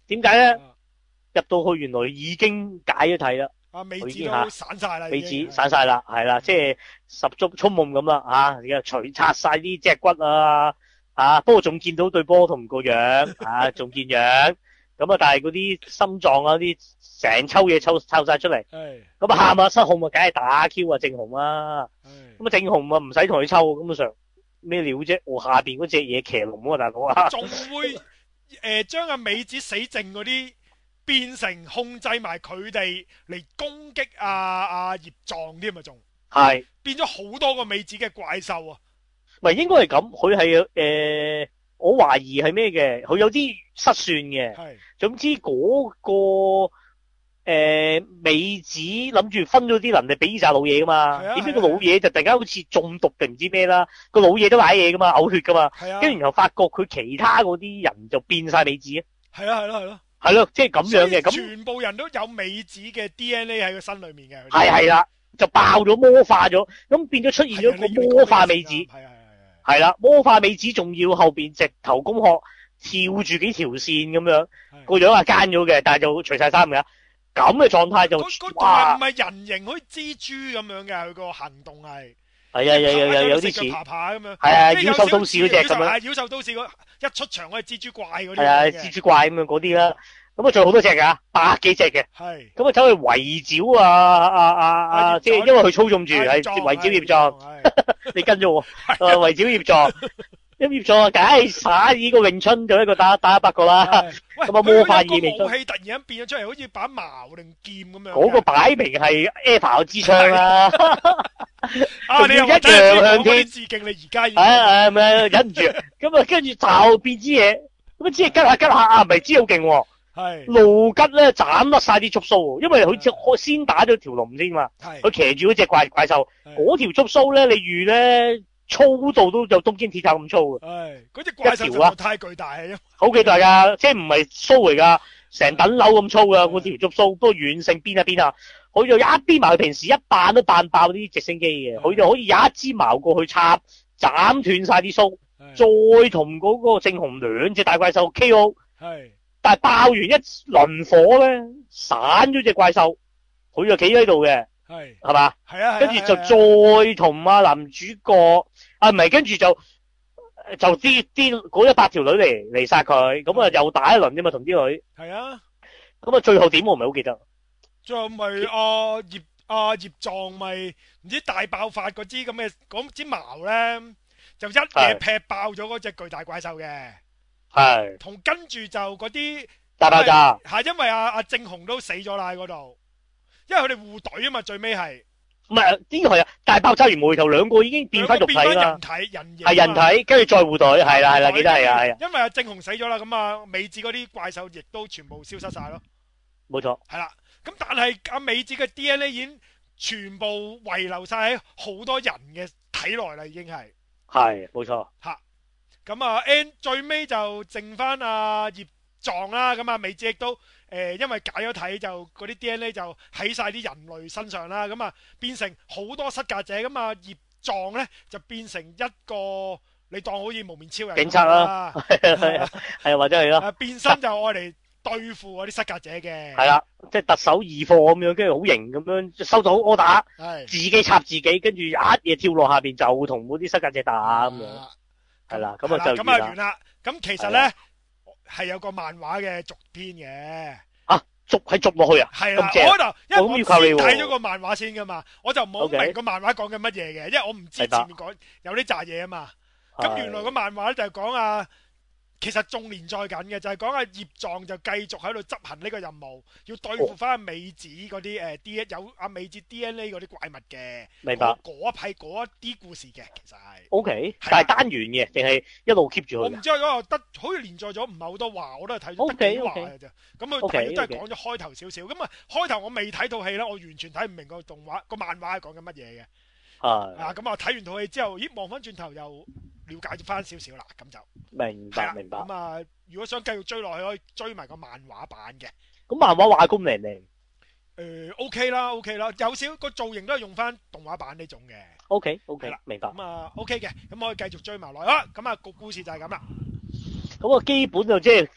點解咧？入到去原來已經解咗體啦。 啊，尾指都散晒啦， 尾指散晒啦，係啦，即係十足沖夢咁啦，吓，而家除拆晒啲脊骨啊，啊，不過仲見到對波同個樣，啊，仲見樣，咁啊，但係嗰啲心臟啊，啲成抽嘢抽抽晒出嚟，咁啊喊啊失控啊，梗係打 Q 啊，正紅啦，咁啊正紅啊唔使同佢抽，根本上咩料啫？我下邊嗰隻嘢騎龍啊，大佬啊， 仲會誒將阿尾指死剩嗰啲。變成控制埋佢哋嚟攻擊阿阿葉藏添啊，仲係變咗好多個尾指嘅怪獸啊！ 唔係應該係咁，佢係誒，我懷疑係咩嘅？佢有啲失算嘅。係，總之嗰、那個誒、呃、尾指諗住分咗啲能力俾呢紮老嘢噶嘛？點知個老嘢就突然間好似中毒定唔知咩啦？個老嘢都瀨嘢噶嘛，嘔血噶嘛？係啊，跟住然後發覺佢其他嗰啲人就變晒尾指啊！係啊，係咯，係咯。係咯，即係咁樣嘅，咁全部人都有尾指嘅 D N A 喺個身裏面嘅，係係啦，就爆咗魔化咗，咁變咗出現咗個魔化尾指，係係係係啦，魔化尾指仲要後邊直頭攻殼跳住幾條線咁樣，個樣係奸咗嘅，但係就除晒衫嘅，咁嘅狀態就哇，唔係人形好似蜘蛛咁樣嘅，佢個行動係。係啊，有有有有啲似爬爬咁樣，係啊，妖獸都市嗰隻咁樣，妖獸都市嗰一出場嗰隻蜘蛛怪嗰啲，係啊，蜘蛛怪咁樣嗰啲啦。咁啊，仲有好多隻噶，百幾隻嘅。係。咁啊，走去圍剿啊啊啊啊！即係因為佢操縱住係圍剿葉藏，你跟咗我，圍剿葉藏，咁葉藏啊，梗係耍呢個詠春就一個打打一百個啦。咁啊，魔法意味武器突然間變咗出嚟，好似把矛定劍咁樣。嗰個擺明係 Eva 支槍啦。啊！你又一樣向天致敬，你而家係係咪忍唔住？咁啊，跟住就變支嘢，咁啊，支嘢吉下吉下啊，唔係支好勁喎。係路吉咧斬甩晒啲觸鬚，因為佢先打咗條龍先嘛。係佢騎住嗰隻怪怪獸，嗰條觸鬚咧，你預咧粗度都有東京鐵塔咁粗嘅。係嗰隻怪獸啊，太巨大係，好巨大噶，即係唔係鬚嚟噶，成等樓咁粗噶嗰條觸鬚，不過軟性邊啊邊啊。佢就一邊埋佢平時一扮都扮爆啲直升機嘅，佢就可以有一支矛過去插，斬斷晒啲鬚，再同嗰個正紅兩隻大怪獸 K O。係，但係爆完一輪火咧，散咗隻怪獸，佢就企喺度嘅。係，係嘛？係啊，跟住就再同阿男主角，啊唔係，跟住就就啲啲嗰一百條女嚟嚟殺佢，咁啊又打一輪啫嘛，同啲女。係啊，咁啊最後點我唔係好記得。最後咪阿葉阿葉藏咪唔知大爆發嗰支咁嘅嗰支矛咧，就一嘢劈爆咗嗰隻巨大怪獸嘅。係。同跟住就嗰啲大爆炸。係因為阿阿正雄都死咗啦喺嗰度，因為佢哋互懟啊嘛，最尾係。唔係呢個係啊，大爆炸完無厘頭兩個已經變翻肉體啦。變翻人體人形。係人體，跟住再互懟，係啦係啦，記得係啊係啊。因為阿正雄死咗啦，咁啊尾指嗰啲怪獸亦都全部消失晒咯。冇錯。係啦。咁但係阿尾指嘅 D N A 已經全部遺留晒喺好多人嘅體內啦，已經係係冇錯吓。咁啊 ，N 最尾就剩翻阿葉藏啦。咁啊，尾指亦都誒、呃，因為解咗體就嗰啲 D N A 就喺晒啲人類身上啦。咁啊，變成好多失格者。咁啊，葉藏咧就變成一個你當好似無面超人警察啦，係啊，係啊，或者係咯。變身就愛嚟對付嗰啲失格者嘅，係啦，即係特首二貨咁樣，跟住好型咁樣收到 order，自己插自己，跟住一嘢跳落下邊就同嗰啲失格者打咁樣，係啦，咁啊就咁啊完啦。咁其實咧係有個漫畫嘅續篇嘅，啊續係續落去啊，係啦，我度因為我先睇咗個漫畫先噶嘛，我就唔好明個漫畫講緊乜嘢嘅，因為我唔知前面講有啲雜嘢啊嘛。咁原來個漫畫咧就係講啊。其實仲連載緊嘅，就係講阿葉藏就繼續喺度執行呢個任務，要對付翻阿尾指嗰啲誒 D 有阿尾指 D N A 嗰啲怪物嘅。明白。嗰一批嗰一啲故事嘅，其實係。O K，但係單元嘅，定係一路 keep 住佢？我唔知啊，嗰個得好似連載咗唔係好多話，我都係睇咗得幾話嘅啫。咁佢睇都係講咗開頭少少。咁啊，開頭我未睇套戲咧，我完全睇唔明個動畫個漫畫係講緊乜嘢嘅。係。啊，咁啊睇完套戲之後，咦望翻轉頭又。了解翻少少啦，咁就明白明白。咁啊，如果想繼續追落去，可以追埋個漫畫版嘅。咁漫畫畫工靚唔靚？誒，O K 啦，O K 啦，有少個造型都係用翻動畫版呢種嘅。O K O K 啦，明白。咁啊 O K 嘅，咁可以繼續追埋落去啦。咁啊個故事就係咁啦。咁啊基本就即係你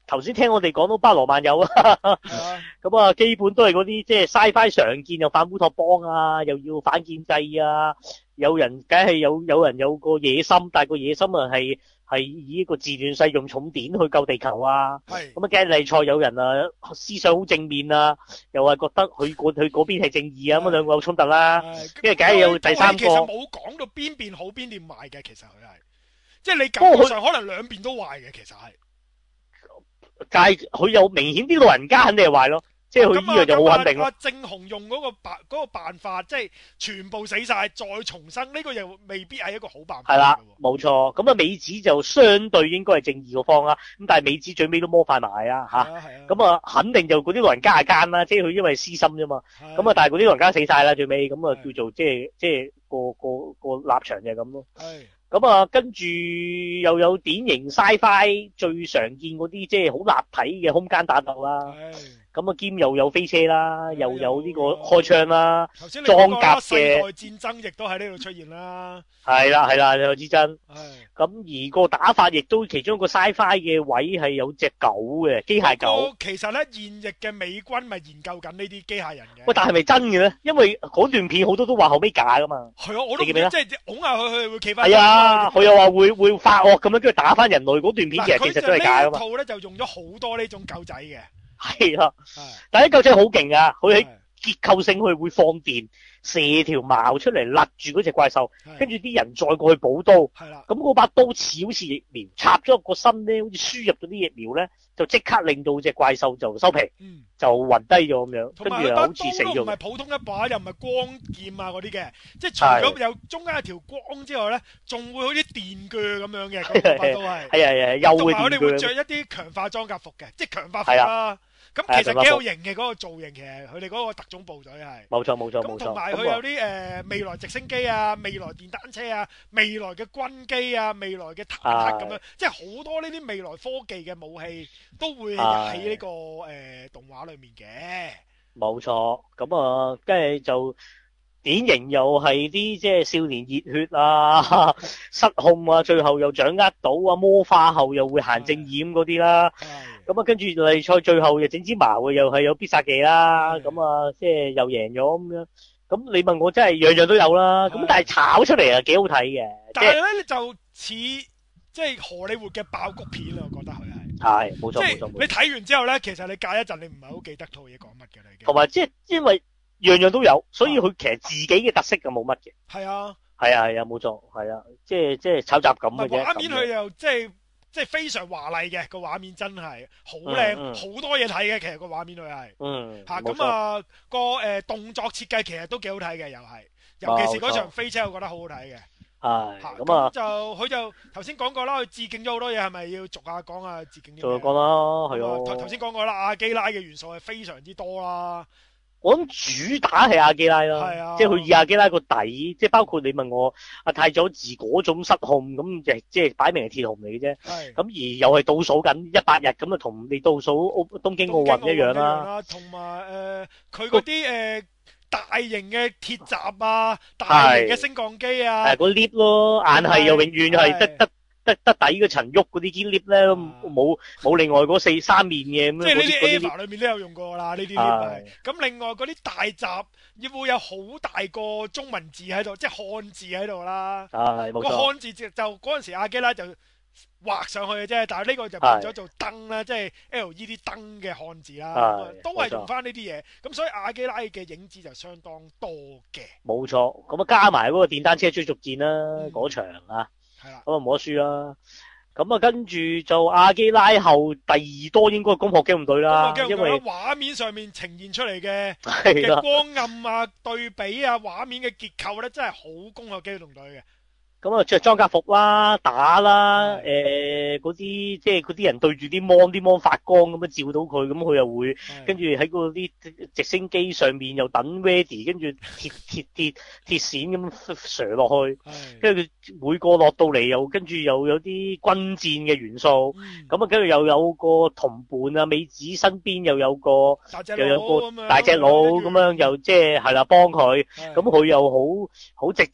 頭先聽我哋講到巴羅萬有啊，咁啊基本都係嗰啲即係 Sci-Fi 常見，又反烏托邦啊，又要反建制啊，有人梗係有有人有個野心，但係個野心啊係係以一個自亂世用重典去救地球啊，咁啊梗係例賽有人啊思想好正面啊，又係覺得佢嗰佢嗰邊係正義啊，咁兩個有衝突啦，跟住梗係有第三個。其實冇講到邊邊好邊邊壞嘅，其實佢係，即係你感覺上可能兩邊都壞嘅，其實係。 但係佢有明顯啲老人家肯定係壞咯，即係佢呢樣就好肯定咯。 啊，正雄用嗰個辦嗰個辦法，即係全部死晒再重生，呢個又未必係一個好辦法。 係啦，冇錯。咁啊，美子就相對應該係正義嗰方啦。咁但係美子最尾都摸快埋啊，吓。咁啊，肯定就嗰啲老人家係奸啦，即係佢因為私心啫嘛。咁啊，但係嗰啲老人家死晒啦，最尾咁啊，叫做即係即係個個個立場就係咁咯。係。咁啊，跟住又有典型 Sci-Fi 最常見嗰啲，即係好立體嘅空間打鬥啦。咁啊，兼又有飛車啦，又有呢個開槍啦，裝甲嘅。世代戰爭亦都喺呢度出現啦。係啦，係啦，有之爭。咁而個打法亦都其中一個 Sci-Fi 嘅位係有隻狗嘅機械狗。 其實咧，現役嘅美軍咪研究緊呢啲機械人嘅。 喂，但係咪真嘅咧？因為嗰段片好多都話後尾假噶嘛。 係啊，我都記得，即係拱下佢，佢會企翻。 係啊，佢又話會會發惡咁樣，跟住打翻人類嗰段片，其實其實都係假噶嘛。 套咧就用咗好多呢種狗仔嘅。 係啊，但係啲狗仔好勁啊！佢喺結構性佢會放電，射條矛出嚟勒住嗰隻怪獸，跟住啲人再過去補刀。係啦，咁嗰把刀似好似疫苗，插咗入個身咧，好似輸入咗啲疫苗咧，就即刻令到隻怪獸就收皮，嗯、就暈低咗咁樣，跟住又好似死咗。同埋把刀都唔係普通一把，又唔係光劍啊嗰啲嘅，即係除咗有中間有條光之外咧，仲會好似電鋸咁樣嘅嗰把刀係。係啊係啊，又會電鋸。同埋我哋會着一啲強化裝甲服嘅，即係強化服啦。咁其實幾有型嘅嗰個造型，其實佢哋嗰個特種部隊係冇錯冇錯冇錯。咁同埋佢有啲誒未來直升機啊、未來電單車啊、未來嘅軍機啊、未來嘅坦克咁樣，即係好多呢啲未來科技嘅武器都會喺呢個誒動畫裏面嘅。冇錯，咁啊，跟住就典型又係啲即係少年熱血啊、失控啊，最後又掌握到啊魔化後又會行正義咁嗰啲啦。咁啊，跟住例賽最後又整支矛嘅，又係有必殺技啦。咁啊，即係又贏咗咁樣。咁你問我真係樣樣都有啦。咁但係炒出嚟啊，幾好睇嘅。但係咧，就似即係荷里活嘅爆谷片啦，我覺得佢係。係，冇錯冇錯。你睇完之後咧，其實你隔一陣你唔係好記得套嘢講乜嘅啦。同埋即係因為樣樣都有，所以佢其實自己嘅特色就冇乜嘅。係啊。係啊係啊，冇錯，係啊，即係即係炒雜咁嘅啫。畫面佢又即係。即係非常華麗嘅個畫面，真係好靚，好多嘢睇嘅。其實個畫面佢係，嗯，吓咁啊個誒動作設計其實都幾好睇嘅，又係，尤其是嗰場飛車，我覺得好好睇嘅。係，咁啊就佢就頭先講過啦，佢致敬咗好多嘢，係咪要逐下講啊？致敬啲咩？逐下講啦，係啊。頭頭先講過啦，阿基拉嘅元素係非常之多啦。我諗主打係阿基拉啦，係啊，即係佢以阿基拉個底，即係包括你問我阿太佐治嗰種失控咁，就即係擺明係鐵雄嚟嘅啫。係咁而又係倒數緊一百日咁啊，同你倒數奧東京奧運一樣啦。同埋誒，佢嗰啲誒大型嘅鐵閘啊，大型嘅升降機啊，係個 lift 咯，硬係又永遠係得得。得得底嗰層喐嗰啲 lift 咧，冇冇另外嗰四三面嘅咁樣。即係呢啲 EVA 裏面都有用過啦，呢啲 lift。咁另外嗰啲大閘亦會有好大個中文字喺度，即係漢字喺度啦。係冇錯。個漢字就嗰陣時阿基拉就畫上去嘅啫，但係呢個就變咗做燈啦，即係 L E D 燈嘅漢字啦，都係用翻呢啲嘢。咁所以阿基拉嘅影子就相當多嘅。冇錯，咁啊加埋嗰個電單車追逐戰啦，嗰場啊。係啦，咁啊冇得輸啦。咁啊跟住就阿基拉後第二多應該係攻殼機動隊啦，因為畫面上面呈現出嚟嘅嘅光暗啊、對比啊、畫面嘅結構咧，真係好攻殼機動隊嘅。咁啊着裝甲服啦，打啦，誒嗰啲即係嗰啲人對住啲芒，啲芒發光咁樣照到佢，咁佢又會跟住喺嗰啲直升機上面又等 ready，跟住鐵鐵鐵鐵線咁射落去，跟住佢每個落到嚟又跟住又有啲軍戰嘅元素，咁啊跟住又有個同伴啊，美子身邊又有個又有個大隻佬咁樣，又即係係啦幫佢，咁佢又好好直接。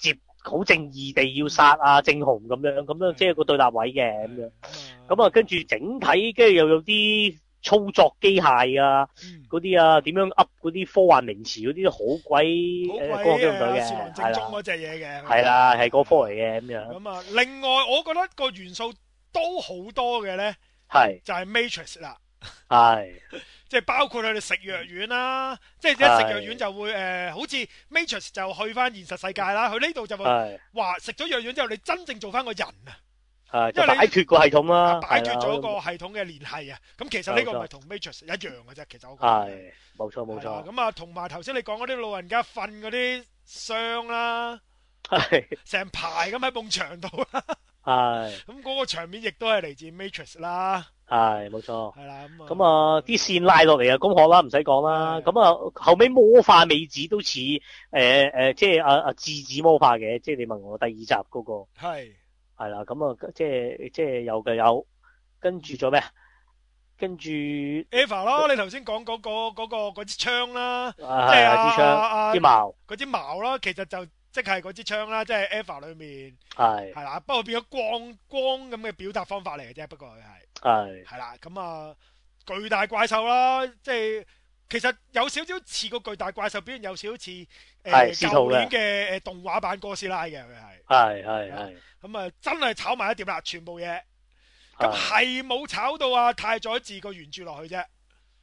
好正義地要殺啊正雄咁樣，咁樣即係個對立位嘅咁樣。咁啊，跟住整體跟住又有啲操作機械啊，嗰啲啊點樣噏嗰啲科幻名詞嗰啲都好鬼誒光機動隊嘅， 士郎正宗嗰隻嘢嘅。 係啦，係嗰科嚟嘅咁樣。 咁啊，另外我覺得個元素都好多嘅咧， 係就係 Matrix 啦。 係。 即係包括佢哋食藥丸啦，即係一食藥丸就會誒，好似 Matrix 就去翻現實世界啦。佢呢度就會話食咗藥丸之後，你真正做翻個人啊。 係，因為擺脫個系統啦， 擺脫咗個系統嘅聯繫啊。咁其實呢個咪同 Matrix 一樣嘅啫。其實我覺得係冇錯冇錯。 咁啊，同埋頭先你講嗰啲老人家瞓嗰啲箱啦， 係成排咁喺埲牆度啦。 係。 咁嗰個場面亦都係嚟自 Matrix 啦。 係冇錯， 係啦咁啊， 咁啊啲線拉落嚟啊，攻殼啦，唔使講啦。咁啊後尾魔化美子都似誒誒，即係阿阿智子魔化嘅，即係你問我第二集嗰、那個係係啦。咁啊即係即係有嘅有，跟住咗咩啊？跟住 Eva 咯，你頭先講嗰個嗰、那個嗰支槍啦，即係啊支槍，支矛， 嗰支矛啦，其實就即係嗰支槍啦，即係 Eva 裏面係係啦，不過變咗光光咁嘅表達方法嚟嘅啫，不過佢係。 係係啦，咁啊巨大怪獸啦，即係其實有少少似個巨大怪獸，表現有少少似誒舊年嘅誒動畫版哥斯拉嘅佢係。係係係。咁啊真係炒埋一碟啦，全部嘢。咁係冇炒到啊太宰治個原著落去啫。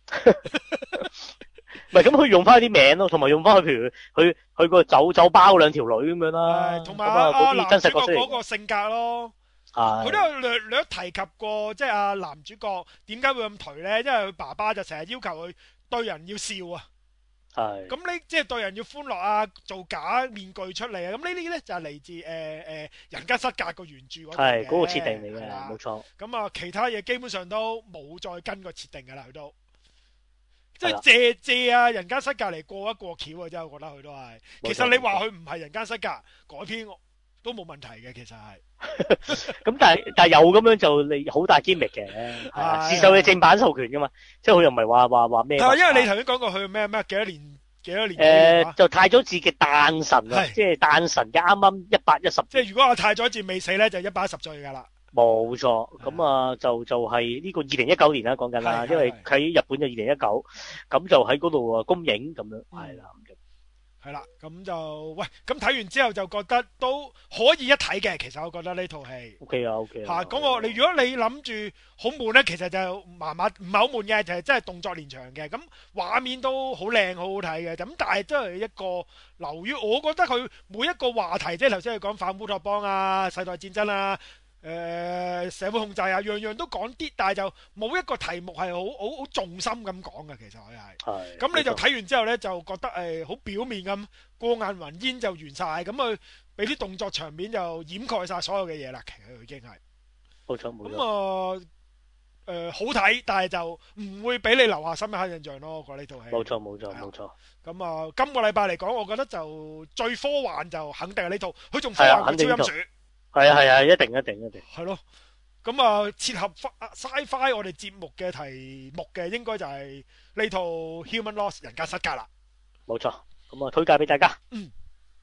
唔係咁佢用翻啲名咯，同埋用翻佢譬如佢佢個酒酒包兩條女咁樣啦。 同埋啊男主角嗰個性格咯。佢都有略略提及過，即係阿男主角點解會咁頹咧？因為佢爸爸就成日要求佢對人要笑啊。係。咁呢即係對人要歡樂啊，做假面具出嚟啊。咁呢啲咧就係嚟自誒誒人間失格個原著嗰度嘅。係嗰個設定嚟嘅，冇錯。咁啊，其他嘢基本上都冇再跟個設定噶啦，佢都即係借借啊人間失格嚟過一過橋啊！真係我覺得佢都係。其實你話佢唔係人間失格改編都冇問題嘅，其實係。 咁但係但係有咁樣就你好大機密嘅，係自受嘅正版授權噶嘛，即係佢又唔係話話話咩？係因為你頭先講過佢咩咩幾多年幾多年？ 誒、呃，就太宰治嘅誕辰啊，即係誕辰嘅啱啱一百一十。 即係如果阿太宰治未死咧，就一百一十歲噶啦。冇錯，咁啊就就係呢個二零一九年啦，講緊啦，因為喺日本就二零一九，咁就喺嗰度啊公映咁樣，係啦。 係啦，咁就喂，咁睇完之後就覺得都可以一睇嘅。其實我覺得呢套戲 O K 啊 O K 吓，咁我你如果你諗住好悶咧，其實就麻麻唔係好悶嘅，就係真係動作連場嘅。咁畫面都好靚，好好睇嘅。咁但係都係一個流於，我覺得佢每一個話題，即係頭先佢講反烏托邦啊、世代戰爭啊。誒、呃、社會控制啊，樣樣都講啲，但係就冇一個題目係好好好重心咁講嘅。其實佢係，係咁你就睇完之後咧，就覺得誒好、呃、表面咁過眼雲煙就完晒，咁佢俾啲動作場面就掩蓋晒所有嘅嘢啦。其實佢已經係冇錯冇錯。 咁啊誒好睇，但係就唔會俾你留下深刻印象咯。我覺得呢套戲冇錯冇錯冇錯。咁啊、呃，今個禮拜嚟講，我覺得就最科幻就肯定係呢套，佢仲科幻過超音鼠。 係啊係啊，一定一定一定。 係咯，咁啊，切合 Sci-Fi 我哋節目嘅題目嘅，應該就係呢套 Human Lost 人間失格啦。 冇錯，咁啊推介俾大家。 嗯。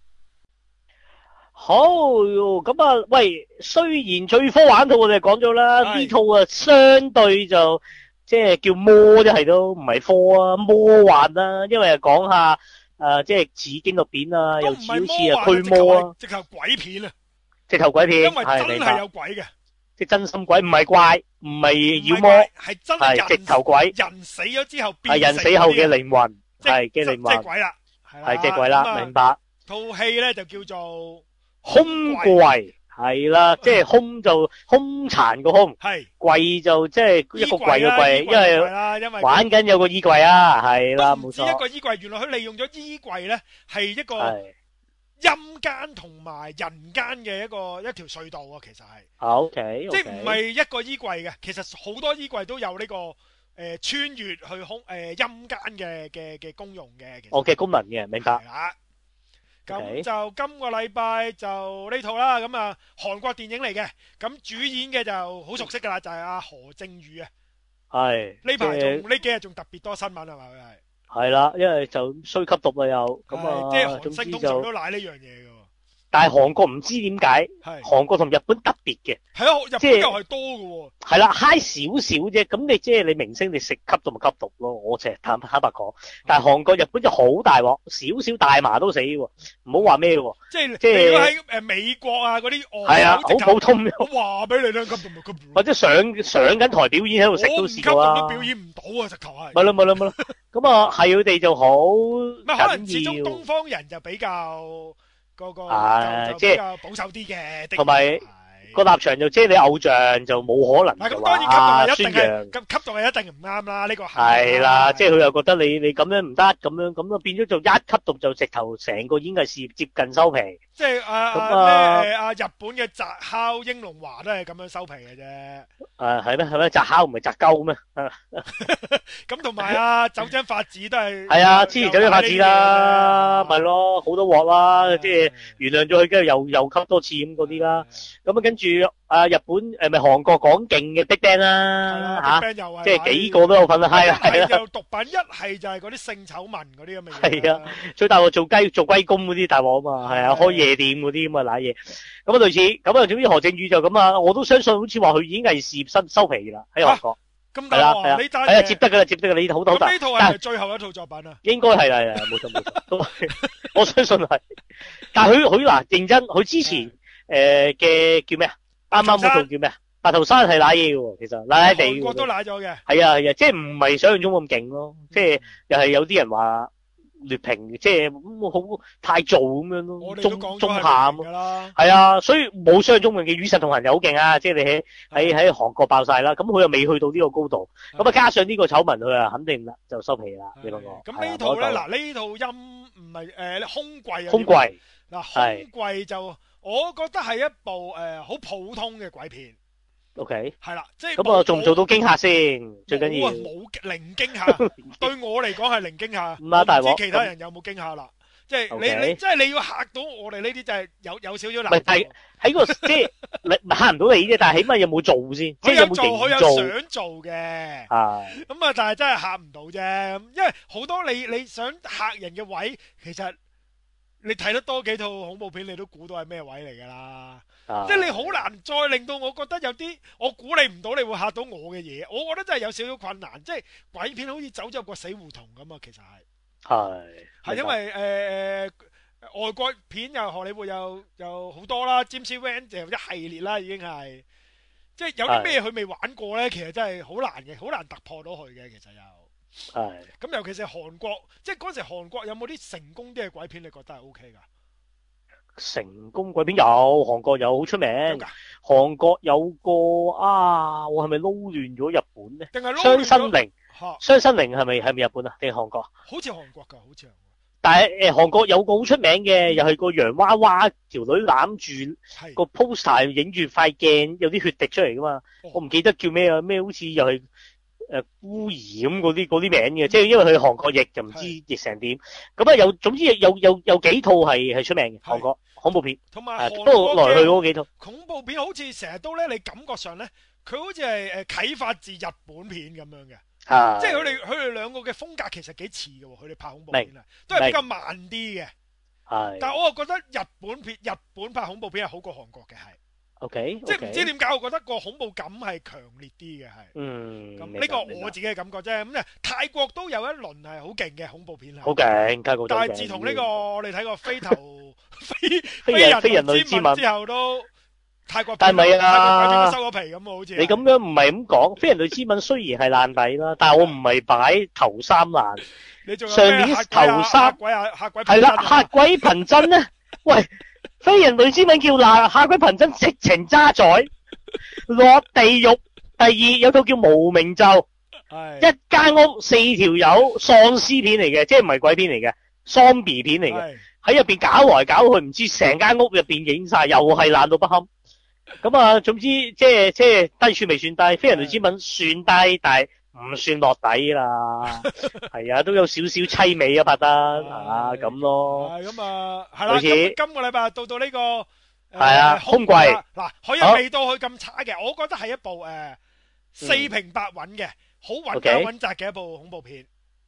好，咁啊，喂，雖然最科幻套我哋講咗啦，呢套啊相對就即係叫魔，即係都唔係科啊，魔幻啦，因為講下誒，即係似紀錄片啊，又似好似啊驅魔啊， 直頭鬼片啊。 直頭鬼片， 因為真係有鬼嘅， 即係真心鬼，唔係怪，唔係妖魔， 係真係直頭鬼。人死咗之後變成， 係人死後嘅靈魂，係嘅靈魂， 即係鬼啦， 係即係鬼啦，明白。 套戲咧就叫做空櫃，係啦，即係空就空殘個空，係櫃就即係一個櫃嘅櫃，因為玩緊有個衣櫃啊，係啦，冇錯。 一個衣櫃，原來佢利用咗衣櫃咧，係一個。陰間同埋人間嘅一個一條隧道啊，其實係 ，O K， 即係唔係一個衣櫃嘅，其實好多衣櫃都有呢、這個誒、呃、穿越去空誒陰間嘅嘅嘅功用嘅， 哦嘅功能嘅，明白。 啦，咁、okay. 就今個禮拜就呢套啦，咁啊韓國電影嚟嘅，咁主演嘅就好熟悉噶啦，就係、是、阿何正宇啊，係呢排仲呢幾日仲特別多新聞係嘛佢係。係啦，因為就衰吸毒啊又，咁啊， 即係韓星通常都賴呢樣嘢嘅。 但係韓國唔知點解，韓國同日本特別嘅， 係啊，日本又係多㗎喎。係啦，嗨少少啫，咁你即係你明星你食吸毒咪吸毒咯，我淨係坦坦白講。但係韓國、日本就好大鑊，少少大麻都死喎，唔好話咩喎。 即係即係如果喺誒美國啊嗰啲， 係啊，好普通。 我話俾你聽，吸毒咪吸毒。 或者上上緊台表演喺度食都試過啦。 我唔吸毒都表演唔到啊，直頭係。 咪咯咪咯咪咯，咁啊係佢哋就好緊要。 可能始終東方人就比較。個個就比較保守啲嘅， 同埋個立場就即係你偶像就冇可能就話宣揚， 咁吸毒係一定唔啱啦，呢個係啦，即係佢又覺得你你咁樣唔得，咁樣咁啊變咗就一吸毒就直頭成個演藝事業接近收皮。 即係啊啊咩啊日本嘅澤烤英龍華都係咁樣收皮嘅啫。 誒係咩係咩？澤烤唔係澤鳩咩？ 咁同埋啊酒精發子都係係啊，之前酒精發子啦，咪咯好多鑊啦，即係原諒咗佢，跟住又又吸多次咁嗰啲啦。咁啊跟住啊日本誒咪韓國講勁嘅 BigBang 啦嚇，即係幾個都有份啊，係啊係啊。 就毒品一係就係嗰啲性醜聞嗰啲咁嘅嘢。 係啊，最大鑊做雞做龜公嗰啲大鑊啊嘛，係啊，開夜店嗰啲咁啊瀨嘢，咁啊類似，咁啊總之何正宇就咁啊，我都相信好似話佢演藝事業收收皮啦喺韓國。 咁大鑊啊！呢單係啊，接得噶啦，接得噶啦，呢套好大。 咁呢套係咪最後一套作品啊？ 應該係啦，係啦，冇錯冇錯，都係，我相信係。但係佢佢嗱認真，佢之前誒嘅叫咩啊？啱啱嗰套叫咩啊？白頭山係瀨嘢嘅喎，其實瀨瀨地。韓國都瀨咗嘅。係啊係啊，即係唔係想象中咁勁咯，即係又係有啲人話。劣評即係咁好太做咁樣咯，中中下咁咯，係啊，所以冇想象中嘅《與神同行》又好勁啊！即係你喺喺喺韓國爆晒啦，咁佢又未去到呢個高度，咁啊加上呢個醜聞，佢啊肯定啦就收皮啦。你講我咁呢套咧嗱呢套音唔係誒空櫃啊， 空櫃嗱空櫃就我覺得係一部誒好普通嘅鬼片。 O K， 係啦，即係咁啊，做唔做到驚嚇先？最緊要冇零驚嚇，對我嚟講係零驚嚇。 唔係大鑊， 唔知其他人有冇驚嚇啦？即係你你即係你要嚇到我哋呢啲，就係有有少少難。 唔係係喺個即係你嚇唔到你啫，但係起碼有冇做先？即係有冇做？ 佢有想做嘅。 係。 咁啊，但係真係嚇唔到啫，因為好多你你想嚇人嘅位，其實你睇得多幾套恐怖片，你都估到係咩位嚟㗎啦。啊、即係你好難再令到我覺得有啲我估你唔到你會嚇到我嘅嘢，我覺得真係有少少困難。即係鬼片好似走咗個死胡同咁啊，其實係係係因為誒誒、呃、外國片又荷里活又又好多啦 James Wan 就一系列啦，已經係即係有啲咩佢未玩過咧，其實真係好難嘅，好難突破到佢嘅。其實又係咁，尤其是韓國，即係嗰時韓國有冇啲成功啲嘅鬼片，你覺得係 O K 噶？ 成功鬼片有，韓國有好出名。韓國有個啊，我係咪撈亂咗日本咧？ 定係雙生靈？雙生靈係咪係咪日本啊？定係韓國？ 好似韓國噶，好似。 但係誒，韓國有個好出名嘅，又係個洋娃娃條女攬住個 poster 影住塊鏡，有啲血滴出嚟噶嘛？我唔記得叫咩啊？咩好似又係誒孤兒咁嗰啲嗰啲名嘅，即係因為佢韓國譯就唔知譯成點。咁啊，有總之有有有幾套係係出名嘅韓國恐怖片， 同埋不過來去嗰幾套恐怖片好似成日都咧，你感覺上咧，佢好似係誒啟發自日本片咁樣嘅，即係佢哋佢哋兩個嘅風格其實幾似嘅，佢哋拍恐怖片啊，都係比較慢啲嘅。係，但係我又覺得日本片日本拍恐怖片係好過韓國嘅，係。O K，即係唔知點解，我覺得個恐怖感係強烈啲嘅，係。嗯，咁呢個我自己嘅感覺啫。咁啊，泰國都有一輪係好勁嘅恐怖片， 好勁，泰國。 但係自從呢個我哋睇過飛頭飛飛人類之吻之後，都泰國但係咪啊？ 泰國鬼片都收咗皮咁啊，好似。 你咁樣唔係咁講，飛人類之吻雖然係爛底啦，但係我唔係擺頭三爛。 你仲有上年頭三鬼啊嚇鬼係啦，嚇鬼憑真咧，喂。飛人類之吻叫爛，嚇鬼憑真直情渣仔落地獄。第二有套叫無名咒，一間屋四條友喪屍片嚟嘅，即係唔係鬼片嚟嘅，喪 B 片嚟嘅，喺入邊搞來搞去，唔知成間屋入邊影晒，又係爛到不堪。咁啊，總之即係即係低處未算低，飛人類之吻算低，但係唔算落底啦。係啊，都有少少凄美啊，拍得啊咁咯。 係咁啊，係啦。今今個禮拜到到呢個係啊空櫃嗱，佢又未到佢咁差嘅，我覺得係一部誒四平八穩嘅，好穩打穩紮嘅一部恐怖片。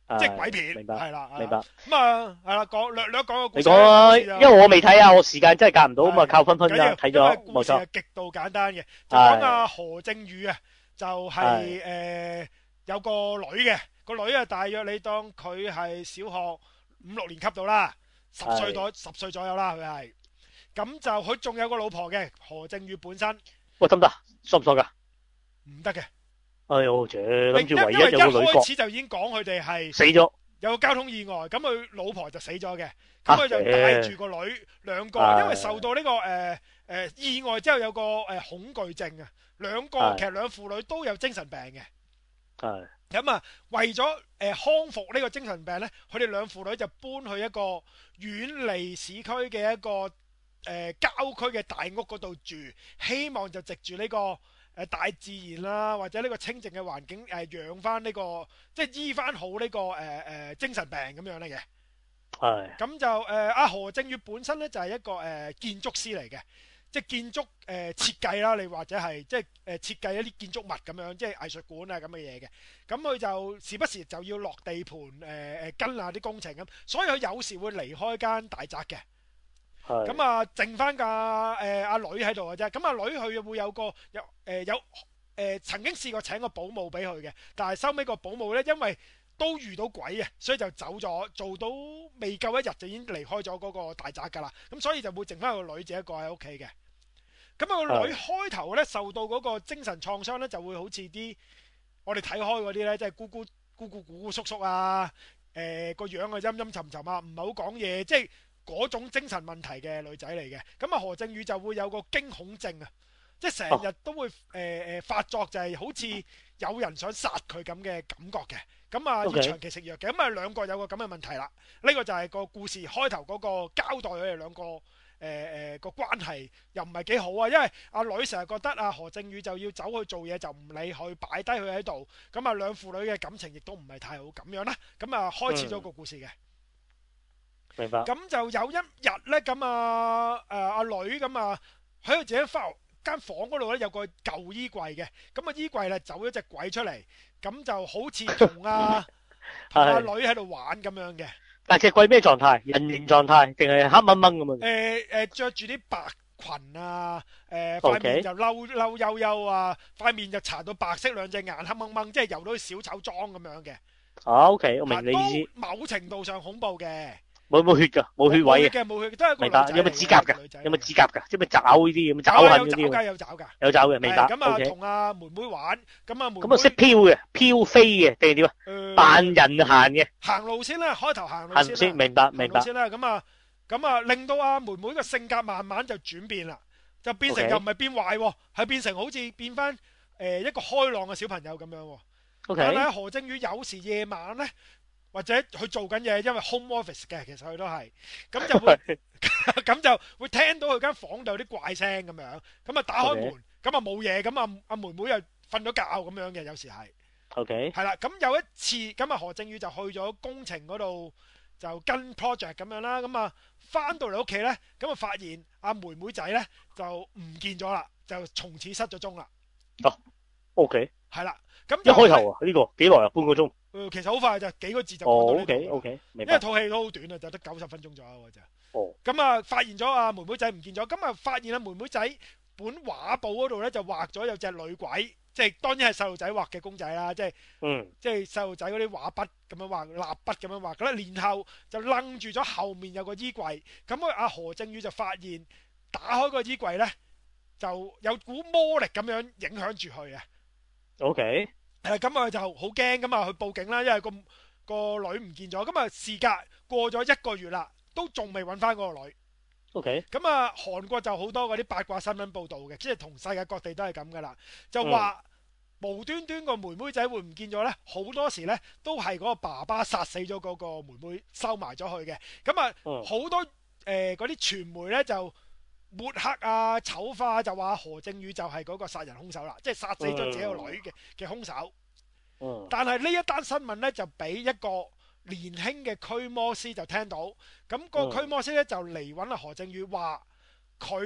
即係鬼片， 明白， 係啦， 明白。 咁啊，係啦，講略略講個故事。 你講啊，因為我未睇啊，我時間真係夾唔到，咁啊靠分分啦，睇咗，冇錯。 故事係極度簡單嘅，就講阿何正宇啊，就係誒有個女嘅，個女啊大約你當佢係小學五六年級到啦，十歲左十歲左右啦，佢係。咁就佢仲有個老婆嘅，何正宇本身。 喂，得唔得？爽唔爽噶？ 唔得嘅。 哎呦，啫，諗住唯一有個女角，一開始就已經講佢哋係死咗， 有個交通意外，咁佢老婆就死咗嘅，咁佢就帶住個女兩個，因為受到呢個誒誒意外之後有個誒恐懼症啊，兩個其實兩父女都有精神病嘅， 係咁啊為咗誒康復呢個精神病咧，佢哋兩父女就搬去一個遠離市區嘅一個誒郊區嘅大屋嗰度住，希望就藉住呢個。誒大自然啦，或者呢個清靜嘅環境，誒養翻呢個，即係醫翻好呢、這個誒誒、呃、精神病咁樣嚟嘅。係。咁就誒阿、呃、何正宇本身咧就係、是、一個誒、呃、建築師嚟嘅，即係建築誒、呃、設計啦，你或者係即係誒設計一啲建築物咁樣，即係藝術館啊咁嘅嘢嘅。咁佢就時不時就要落地盤誒誒跟下啲工程咁，所以佢有時會離開間大宅嘅。咁啊，剩翻架誒阿女喺度嘅啫。咁阿女佢會有個有誒、呃、有誒、呃、曾經試過請個保姆俾佢嘅，但係收尾個保姆咧，因為都遇到鬼啊，所以就走咗，做到未夠一日就已經離開咗嗰個大宅㗎啦。咁所以就會剩翻個女自己一個喺屋企嘅。咁啊個女開頭咧受到嗰個精神創傷咧，就會好似啲我哋睇開嗰啲咧，即係姑姑姑姑姑姑叔叔啊，誒個樣啊陰陰沉沉啊，唔係好講嘢，即係。嗰種精神問題嘅女仔嚟嘅，咁啊何正宇就會有個驚恐症啊，即係成日都會誒誒、呃、發作，就係好似有人想殺佢咁嘅感覺嘅，咁啊要長期食藥嘅，咁啊兩個有個咁嘅問題啦，呢、呢個就係個故事開頭嗰個交代佢哋兩個誒誒個關係又唔係幾好啊，因為阿女成日覺得啊何正宇就要走去做嘢就唔理佢，擺低佢喺度，咁啊兩父女嘅感情亦都唔係太好咁樣啦，咁啊開始咗個故事嘅。嗯明白。 咁就有一日咧，咁啊誒阿女咁啊喺佢自己翻間房嗰度咧，有個舊衣櫃嘅，咁啊衣櫃咧走咗隻鬼出嚟，咁就好似同阿阿女喺度玩咁樣嘅。但係隻鬼咩狀態？人形狀態定係黑掹掹咁啊？誒誒，著住啲白裙啊，誒塊面就嬲嬲悠悠啊，塊面就搽到白色，兩隻眼黑掹掹，即係游到小丑妝咁樣嘅。啊 OK，我明你意思。某程度上恐怖嘅。冇冇血噶，冇血位嘅，冇血嘅，都係一個女仔。明白。有冇指甲噶？有冇指甲噶？即係咪爪呢啲咁？爪痕嗰啲。有爪噶，有爪噶。有爪嘅，明白。咁啊，同阿妹妹玩，咁啊妹妹。咁啊識飄嘅，飄飛嘅定係點啊？扮人行嘅。行路先啦，開頭行路先。行先，明白，明白。先啦，咁啊，咁啊，令到阿妹妹嘅性格慢慢就轉變啦，就變成又唔係變壞，係變成好似變翻誒一個開朗嘅小朋友咁樣。OK。但係何正宇有時夜晚咧。或者佢做緊嘢，因為 home office 嘅，其實佢都係，咁就會咁就會聽到佢間房度有啲怪聲咁樣，咁啊打開門，咁啊冇嘢，咁啊阿妹妹又瞓咗覺咁樣嘅，有時係 ，OK，係啦，咁有一次，咁啊何正宇就去咗工程嗰度就跟 project 咁樣啦，咁啊翻到嚟屋企咧，咁啊發現阿妹妹仔咧就唔見咗啦，就從此失咗蹤啦。哦 ，OK，係啦，咁一開頭啊呢個幾耐啊？半個鐘。誒，其實好快就幾個字就講到呢度。O K O K，明白。因為套戲都好短啊，就得九十分鐘左右嘅啫。哦。咁啊，發現咗阿妹妹仔唔見咗，咁啊發現阿妹妹仔本畫簿嗰度咧就畫咗有隻女鬼，即係當然係細路仔畫嘅公仔啦，即係，嗯，即係細路仔嗰啲畫筆咁樣畫，蠟筆咁樣畫。咁咧，然後就楞住咗後面有個衣櫃，咁啊阿何正宇就發現打開個衣櫃咧，就有股魔力咁樣影響住佢啊。O K。誒，咁啊就好驚，咁啊去報警啦，因為個個女唔見咗，咁啊事隔過咗一個月啦，都仲未揾翻嗰個女。OK。咁啊，韓國就好多嗰啲八卦新聞報道嘅，即係同世界各地都係咁噶啦，就話無端端個妹妹仔會唔見咗呢，好多時呢都係嗰個爸爸殺死咗嗰個妹妹，收埋咗佢嘅。咁啊，好多誒嗰啲傳媒呢就抹黑啊、醜化，就話何正宇就係嗰個殺人兇手啦，即係殺死咗自己個女嘅嘅兇手。嗯。但係呢一單新聞咧，就俾一個年輕嘅驅魔師就聽到，咁個驅魔師咧就嚟揾阿何正宇，話佢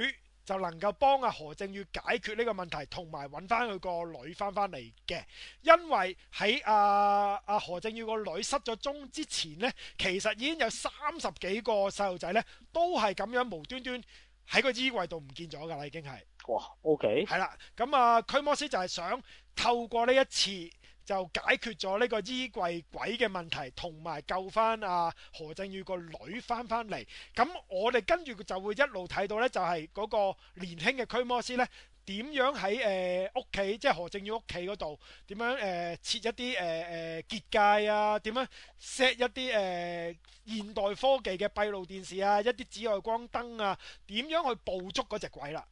就能夠幫阿何正宇解決呢個問題，同埋揾翻佢個女翻翻嚟嘅。因為喺阿阿何正宇個女失咗蹤之前呢，其實已經有三十幾個細路仔呢都係咁樣無端端喺個衣櫃度唔見咗㗎啦，已經係。 哇 ，OK。 係啦，咁啊，驅魔師就係想透過呢一次就解決咗呢個衣櫃鬼嘅問題，同埋救翻阿何正宇個女翻翻嚟。咁我哋跟住就會一路睇到呢，就係嗰個年輕嘅驅魔師呢，點樣喺誒屋企，即係何正宇屋企嗰度，點樣誒、呃、設一啲誒誒結界啊，點樣 set 一啲誒、呃、現代科技嘅閉路電視啊，一啲紫外光燈啊，點樣去捕捉嗰隻鬼啦。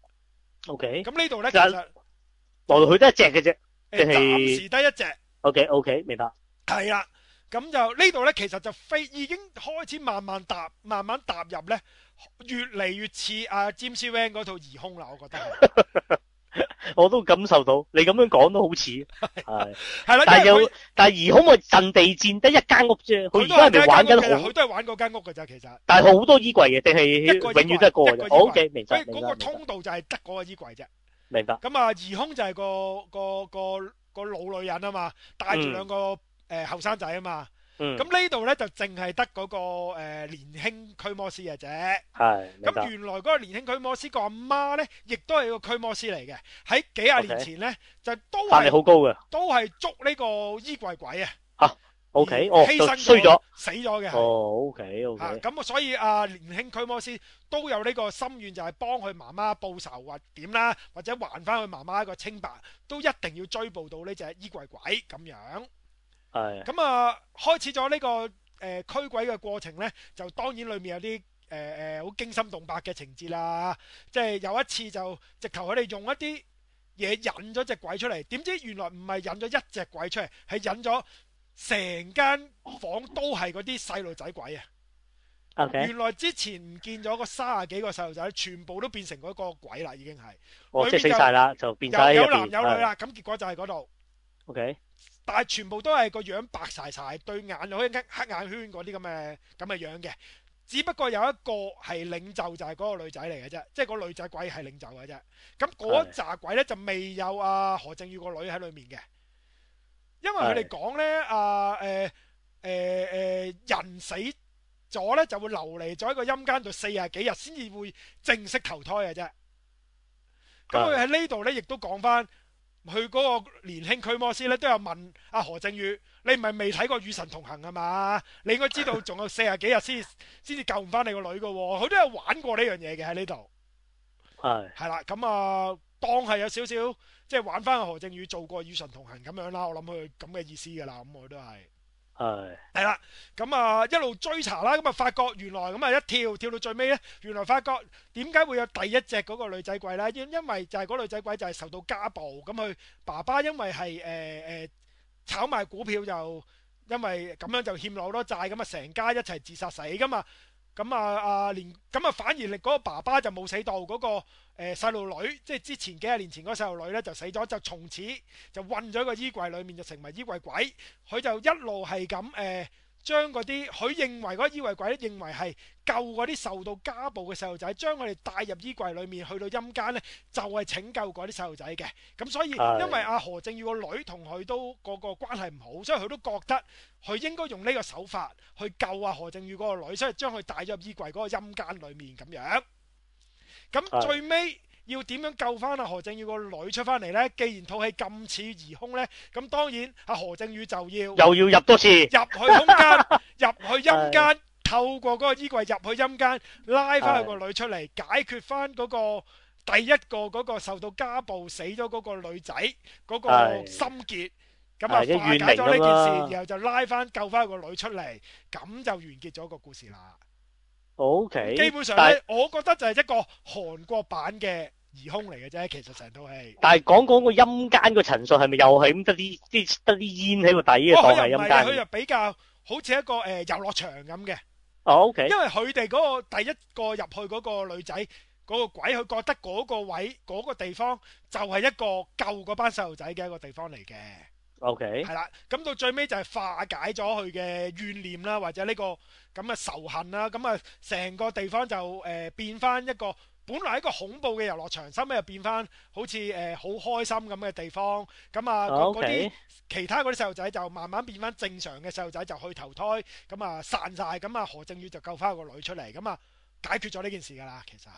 OK， 咁呢度咧其實來來去都一隻嘅啫， 誒暫時得一隻。 OK OK，明白。 係啦，咁就呢度咧其實就非已經開始慢慢踏慢慢踏入咧，越嚟越似阿 James Wan 嗰套疑兇啦，我覺得。 我都感受到，你咁樣講都好似係係啦， 但係有但係疑兇個陣地戰得一間屋啫，佢而家係咪玩緊好？ 佢都係玩嗰間屋㗎咋，其實。 但係好多衣櫃嘅，定係永遠都係個嘅。O K，明白。 所以嗰個通道就係得嗰個衣櫃啫。 明白。 咁啊，疑兇就係個個個個老女人啊嘛，帶住兩個誒後生仔啊嘛。咁呢度咧就淨係得嗰個誒年輕驅魔師嘅啫。 係。 咁原來嗰個年輕驅魔師個阿媽咧，亦都係個驅魔師嚟嘅。喺幾廿年前咧，就都係法力好高嘅， 都係捉呢個衣櫃鬼啊。 嚇，O K，哦， 犧牲衰咗， 死咗嘅。 哦，O K O K。 咁啊，所以啊，年輕驅魔師都有呢個心願，就係幫佢媽媽報仇或點啦，或者還翻佢媽媽一個清白，都一定要追捕到呢隻衣櫃鬼咁樣。 係。 咁啊，開始咗呢個誒驅鬼嘅過程呢，就當然裏面有啲誒誒好驚心動魄嘅情節啦。即係有一次就直頭佢哋用一啲嘢引咗隻鬼出嚟，點知原來唔係引咗一隻鬼出嚟，係引咗成間房都係嗰啲細路仔鬼啊。 Okay. 原來之前唔見咗個三十幾個細路仔，全部都變成嗰個鬼啦，已經係。 哦，即係死晒啦，就變晒有男有女啦，咁結果就係嗰度。 OK。 但係全部都係個樣白晒晒，對眼又好似黑眼圈嗰啲咁嘅咁嘅樣嘅。只不過有一個係領袖，就係嗰個女仔嚟嘅啫，即係個女仔鬼係領袖嘅啫。咁嗰紮鬼咧就未有阿何正宇個女喺裏面嘅，因為佢哋講咧啊誒誒誒人死咗咧就會流離咗喺個陰間度四十幾日先至會正式投胎嘅啫。咁佢喺呢度咧亦都講翻。佢嗰個年輕驅魔師咧都有問阿何正宇：你唔係未睇過《與神同行》啊嘛？你應該知道仲有四十幾日先先至救唔翻你個女噶。佢都有玩過呢樣嘢嘅喺呢度。 係係啦，咁啊當係有少少即係玩翻阿何正宇做過《與神同行》咁樣啦。我諗佢咁嘅意思噶啦。咁我都係係係啦。咁啊一路追查啦，咁啊發覺原來咁啊一跳跳到最尾咧，原來發覺點解會有第一隻嗰個女仔鬼咧？因因為就係嗰女仔鬼就係受到家暴，咁佢爸爸因為係誒誒炒賣股票，就因為咁樣就欠咗好多債，咁啊成家一齊自殺死噶嘛。咁啊啊連咁啊反而令嗰個爸爸就冇死到，嗰、嗰個誒細路女，即係之前幾廿年前嗰個細路女咧就死咗，就從此就困咗個衣櫃裏面，就成為衣櫃鬼。佢就一路係咁誒將嗰啲佢認為嗰個衣櫃鬼咧，認為係救嗰啲受到家暴嘅細路仔，將佢哋帶入衣櫃裏面去到陰間咧，就係拯救嗰啲細路仔嘅。咁所以因為阿何正宇個女同佢都個個關係唔好，所以佢都覺得佢應該用呢個手法去救阿何正宇嗰個女，所以將佢帶咗入衣櫃嗰個陰間裏面咁樣。咁最尾要點樣救翻阿何正宇個女出翻嚟呢？既然套戲咁似疑兇呢，咁當然阿何正宇就要又要入多次入去空間，入去陰間，透過嗰個衣櫃入去陰間，拉翻佢個女出嚟，解決翻嗰個第一個嗰個受到家暴死咗嗰個女仔嗰個心結，咁啊化解咗呢件事，然後就拉翻救翻個女出嚟，咁就完結咗個故事啦。 O K， 基本上咧，我覺得就係一個韓國版嘅疑兇嚟嘅啫。其實成套戲， 但係講講個陰間個陳述係咪又係咁得啲啲得啲煙喺個底嘅當係陰間？ 佢又比較好似一個誒遊樂場咁嘅。 哦 O K，因為佢哋嗰個第一個入去嗰個女仔嗰個鬼，佢覺得嗰個位嗰個地方就係一個救嗰班細路仔嘅一個地方嚟嘅。 O K， 係啦，咁到最尾就係化解咗佢嘅怨念啦，或者呢個咁嘅仇恨啦，咁啊成個地方就誒變翻一個本來一個恐怖嘅遊樂場，收尾又變翻好似誒好開心咁嘅地方。咁啊，嗰啲、oh, okay. 其他嗰啲細路仔就慢慢變翻正常嘅細路仔，就去投胎，咁啊散晒。咁啊何正宇就救翻個女出嚟，咁啊解決咗呢件事噶啦，其實係。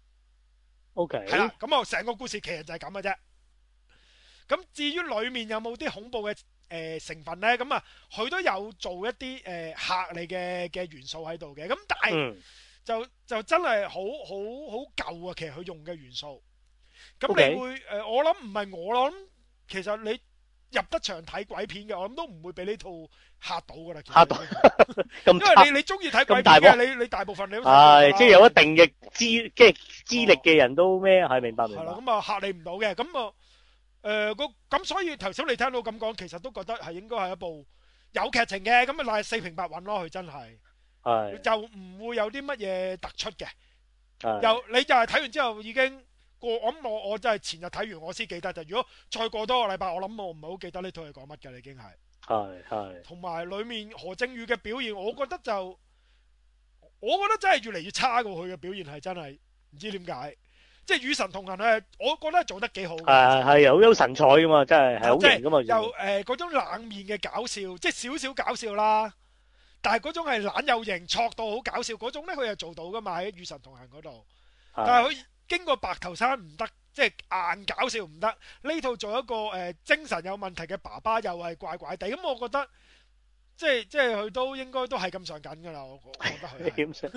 O K。 係啦，咁啊成個故事其實就係咁嘅啫。咁至於裡面有冇啲恐怖嘅誒、呃、成分咧？咁啊佢都有做一啲誒、呃、嚇你嘅嘅元素喺度嘅。咁但係、嗯就就真係好好好舊啊！其實佢用嘅元素，咁你會誒、okay. 呃？我諗唔係我諗，其實你入得場睇鬼片嘅，我諗都唔會俾呢套嚇到噶啦。嚇到，因為你你中意睇鬼片嘅，你你大部分你都係即係有一定嘅資即係資歷嘅人都咩？係、哦、明白明白。係啦， 咁啊嚇你唔到嘅，咁啊誒個咁，所以頭先你聽到咁講，其實都覺得係應該係一部有劇情嘅，咁啊但係四平八穩咯，佢真係。係就唔會有啲乜嘢突出嘅，又你就係睇完之後已經過，我諗我我真係前日睇完我先記得就，如果再過多個禮拜，我諗我唔係好記得呢套係講乜嘅，已經係係係，同埋裏面何正宇嘅表現，我覺得就我覺得真係越嚟越差過佢嘅表現係真係唔知點解，即係與神同行咧，我覺得做得幾好嘅，係係有有神采噶嘛，真係係好型噶嘛，又誒嗰種冷面嘅搞笑，即係少少搞笑啦。但係嗰種係懶有型，挫到好搞笑嗰種咧，佢又做到噶嘛喺《與神同行》嗰度。但係佢經過白頭山唔得，即係硬搞笑唔得。呢套做一個誒、呃、精神有問題嘅爸爸，又係怪怪地。咁我覺得即係即係佢都應該都係咁上緊噶啦。我我覺得佢點算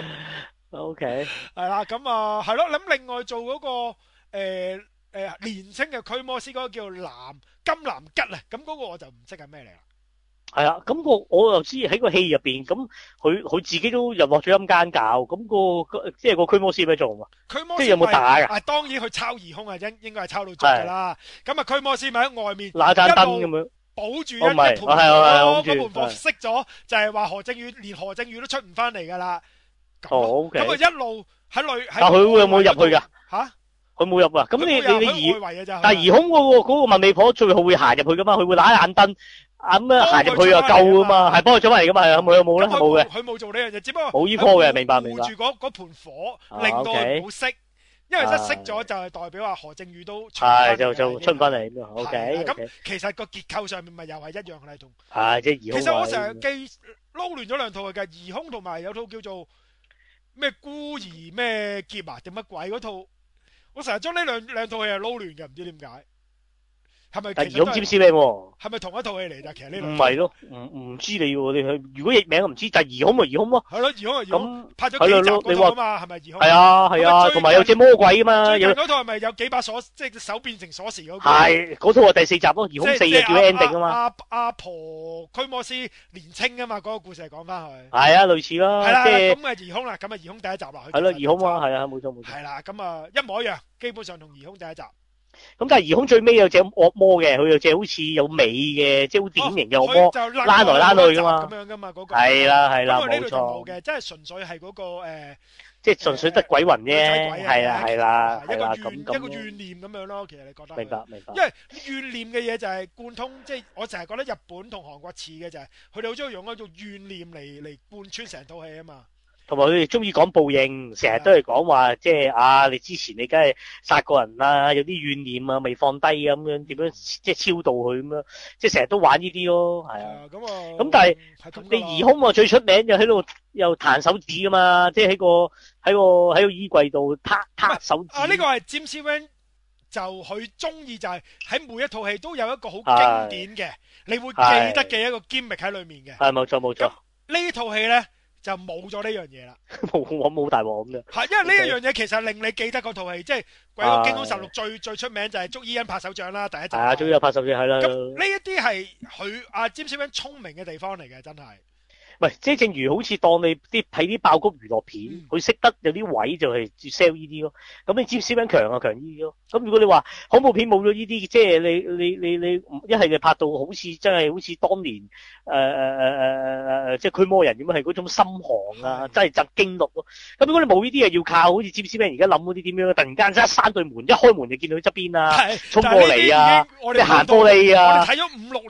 ？O K 係啦，咁啊係咯。咁另外做嗰、嗰個誒誒、呃呃、年青嘅驅魔師嗰個叫藍金藍吉啊，咁嗰個我就唔識係咩嚟啦。 係啊，咁、那個我又知喺個戲入邊，咁佢佢自己都入落咗陰間教，咁、那個即係個驅魔師咩做啊？驅魔師即係有冇打噶？啊，當然佢抄疑兇啊，應應該係抄到足噶啦。咁啊，驅魔師咪喺外面拿盞燈咁樣保住一一盤火，嗰盤火熄咗，就係話何正宇連何正宇都出唔翻嚟噶啦。哦，咁啊一路喺內，但佢會有冇入去噶？吓，佢冇入啊。咁你你你疑，但係疑兇嗰個嗰個問美婆最後會行入去噶嘛？佢會拿盞燈。咁啊，行入去啊，救噶嘛，係幫佢做翻嚟噶嘛，係冇有冇咧？冇嘅，佢冇做呢樣嘢，只不過冇依科嘅，明白明白。護住嗰嗰盤火，令到佢唔好熄，因為一熄咗就係代表話何正宇都係就就出唔翻嚟咁樣。O K，咁其實個結構上面咪又係一樣嘅同。係即係疑兇。其實我成日記撈亂咗兩套嘅，疑兇同埋有套叫做咩孤兒咩劫啊定乜鬼嗰套，我成日將呢兩兩套戲係撈亂嘅，唔知點解。係咪？但疑兇占士咩？係咪同一套戲嚟㗎？其實呢兩唔係咯，唔唔知你喎。你去如果譯名我唔知，但係疑兇咪疑兇咯。係咯，疑兇係疑兇。咁拍咗幾集嗰套啊嘛？係咪疑兇？係啊係啊，同埋有隻魔鬼啊嘛。最近嗰套係咪有幾把鎖，即係手變成鎖匙嗰個？係嗰套係第四集咯，疑兇四嘅叫 ending 啊嘛。阿阿婆驅魔師年青啊嘛，嗰個故事係講翻去。係啊，類似咯。係啦，咁啊疑兇啦，咁啊疑兇第一集啦。係咯，疑兇啊，係啊，冇錯冇錯。係啦，咁啊一模一樣，基本上同疑兇第一集。咁但係疑兇最尾有隻惡魔嘅，佢有隻好似有尾嘅，即係好典型嘅惡魔，拉來拉去噶嘛，咁樣噶嘛嗰個。係啦係啦，冇錯。冇嘅，即係純粹係嗰個誒，即係純粹得鬼魂啫，係啦係啦，一個怨一個怨念咁樣咯。其實你覺得？明白明白。因為怨念嘅嘢就係貫通，即係我成日覺得日本同韓國似嘅就係，佢哋好中意用一種怨念嚟嚟貫穿成套戲啊嘛。同埋佢哋中意講報應，成日都係講話，即係啊，你之前你梗係殺過人啦，有啲怨念啊，未放低咁樣，點樣即係超度佢咁樣，即係成日都玩呢啲咯，係啊。咁啊，咁但係你疑兇啊最出名就喺度又彈手指噶嘛，即係喺個喺個喺個衣櫃度撻撻手指。啊，呢個係 James Wan 就佢中意就係喺每一套戲都有一個好經典嘅，你會記得嘅一個 gimmick 喺裏面嘅。係冇錯冇錯。呢套戲咧。就冇咗呢樣嘢啦，冇我冇大鑊咁樣。係因為呢一樣嘢其實令你記得嗰套戲，即係《鬼屋驚凶實錄》最最出名就係捉伊恩拍手掌啦，第一集。係啊，捉伊恩拍手掌係啦。咁呢一啲係佢阿詹士溫聰明嘅地方嚟嘅，真係。唔係，即係正如好似當你啲睇啲爆谷娛樂片，佢、嗯、識得有啲位就係 sell 呢啲咯。咁你詹士溫強啊強呢啲咯。咁如果你話恐怖片冇咗呢啲，即係你你你你一係就拍到好似真係好似當年誒誒誒誒誒即係驅魔人咁樣，係嗰種心寒啊，真係震驚咯。咁如果你冇呢啲，又要靠好似詹士溫而家諗嗰啲點樣，突然間一閂對門，一開門就見到佢側邊啊，衝過嚟啊，即係行玻璃啊。我哋睇咗五六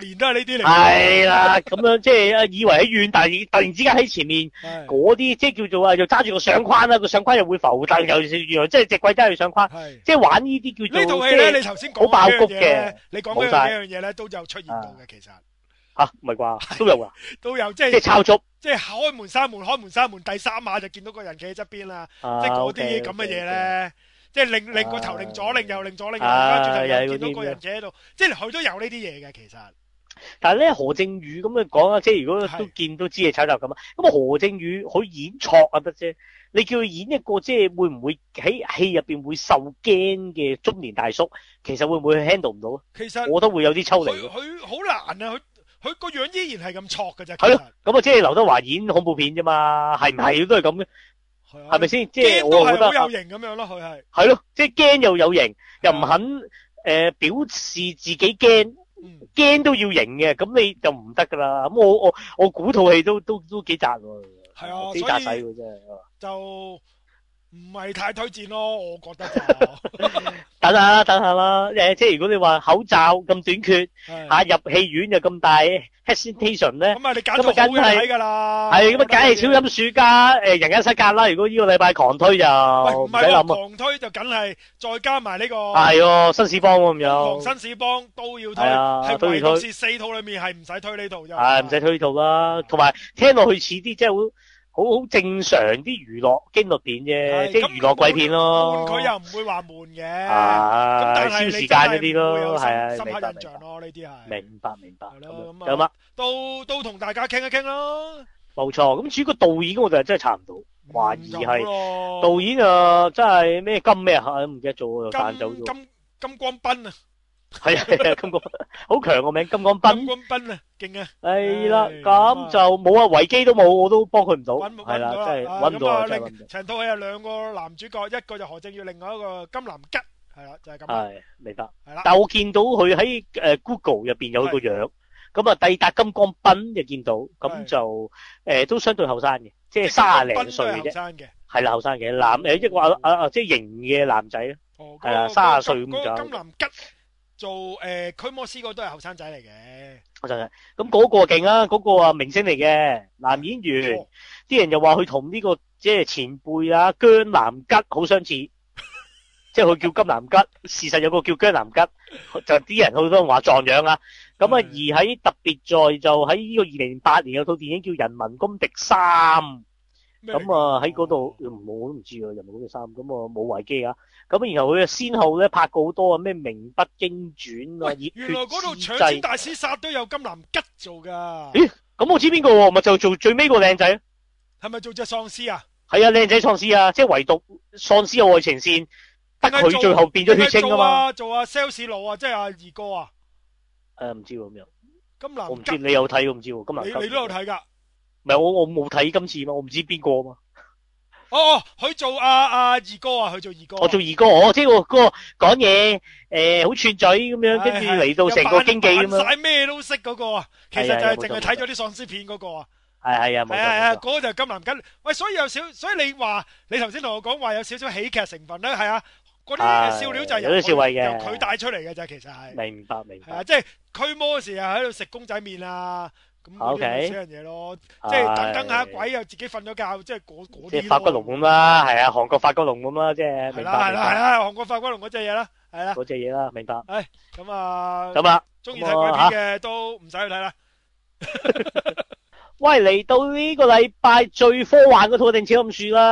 年都係呢啲嚟。 係啦，咁樣即係以為喺遠，但係突然之間喺前面嗰啲，即係叫做啊，又揸住個相框啦，個相框又會浮，但又原來即係隻鬼揸住相框，即係玩呢啲叫做。呢套戲咧，你頭先講好爆谷嘅，你講嘅呢樣嘢咧都有出現到嘅，其實。 吓，唔係啩？都有噶， 都有，即係即係抄足， 即係開門閂門，開門閂門，第三下就見到個人企喺側邊啦，即係嗰啲咁嘅嘢咧，即係擰擰個頭，擰左擰右，擰左擰右，跟住就見到個人企喺度，即係佢都有呢啲嘢嘅，其實。 但係咧，何正宇咁樣講啊，即係如果都見都知係炒作咁啊，咁啊何正宇佢演錯啊得啫，你叫佢演一個即係會唔會喺戲入邊會受驚嘅中年大叔，其實會唔會 handle 唔到啊？ 其實我覺得會有啲抽離。 佢好難啊，佢。佢個樣依然係咁挫㗎啫， 係咯，咁啊即係劉德華演恐怖片啫嘛，係唔係都係咁嘅？係咪先？即係我覺得好有型咁樣咯，佢係係咯，即係驚又有型，又唔肯誒表示自己驚，驚都要型嘅，咁你就唔得噶啦。咁我我我估套戲都都都幾雜喎， 係啊， 幾雜使喎真係。 就唔係太推薦咯，我覺得就等下啦，等下啦，誒，即係如果你話口罩咁短缺，吓入戲院就咁大 hesitation 咧， 咁啊，你揀套好嘅睇噶啦， 係咁啊，梗係超音鼠加誒人間失格啦。如果呢個禮拜狂推就唔使諗啊，狂推就梗係再加埋呢個係哦，新市幫咁樣， 新市幫都要推，係唯獨是四套裏面係唔使推呢套啫， 係唔使推呢套啦。同埋聽落去似啲即係好。好好正常啲娛樂驚慄片啫，即係娛樂鬼片咯。 悶佢又唔會話悶嘅， 咁但係消時間嗰啲咯，係啊， 深刻印象咯，呢啲係。 明白明白。 咁有乜？ 都都同大家傾一傾咯。 冇錯，咁至於個導演我就真係查唔到，懷疑係導演啊，真係咩金咩啊，唔記得咗又彈走咗。 金金光斌啊！ 係啊，金光好強個名，金光斌。 金光斌啊，勁啊！ 係啦，咁就冇啊，維基都冇，我都幫佢唔到。係啦，真係搵唔到啊！ 成套戲有兩個男主角，一個就何正宇，另外一個金南吉，係啦，就係咁。係明白。係啦，但係我見到佢喺誒 Google 入邊有個樣，咁啊，蒂達金光斌就見到，咁就誒都相對後生嘅，即係卅零歲嘅啫。係啦，後生嘅男誒，一個啊啊即係型嘅男仔咯。哦。係啦，卅歲咁就。金南吉。做誒驅魔師嗰都係後生仔嚟嘅，後生仔咁嗰個勁啊，嗰個啊明星嚟嘅男演員，啲人又話佢同呢個即係前輩啊姜南吉好相似，即係佢叫金南吉，事實有個叫姜南吉，就啲人好多人話撞樣啊。咁啊而喺特別在就喺呢個二零零八年有套電影叫《人民公敵三》，咁啊喺嗰度我都唔知啊，《人民公敵三》咁啊冇維基啊。咁然後佢啊先後咧拍過好多啊咩《名不經傳》啊，原來嗰度搶錢大師殺都有金南吉做噶。咦？咁我知邊個喎？咪就做最尾個靚仔？係咪做隻喪屍啊？係啊，靚仔喪屍啊，即係唯獨喪屍嘅愛情線，得佢最後變咗血清啊嘛。做啊 sales 佬啊，即係阿二哥啊。誒，唔知喎咁樣。金南吉，我唔知你有睇，我唔知喎。金南吉，你你都有睇噶？唔係我我冇睇今次嘛，我唔知邊個啊嘛。哦，佢做阿阿二哥啊，佢做二哥。我做二哥，我即係嗰個講嘢誒，好串嘴咁樣，跟住嚟到成個經紀咁樣。扮晒咩都識嗰個啊，其實就係淨係睇咗啲喪屍片嗰個啊。係係啊，冇錯。係係，嗰個就係金南吉。喂，所以有少，所以你話你頭先同我講話有少少喜劇成分咧，係啊，嗰啲笑料就係有啲笑位嘅，由佢帶出嚟嘅啫，其實係。明白明白。係啊，即係驅魔嗰時啊，喺度食公仔麵啊。咁嗰啲死人嘢咯，即係等等下鬼又自己瞓咗覺，即係嗰嗰啲。即係發骨龍咁啦，係啊，韓國發骨龍咁啦，即係。係啦係啦係啦，韓國發骨龍嗰隻嘢啦，係啦。嗰隻嘢啦，明白。誒，咁啊，咁啊，中意睇鬼片嘅都唔使去睇啦。喂，嚟到呢個禮拜最科幻嗰套定《超音鼠》啦。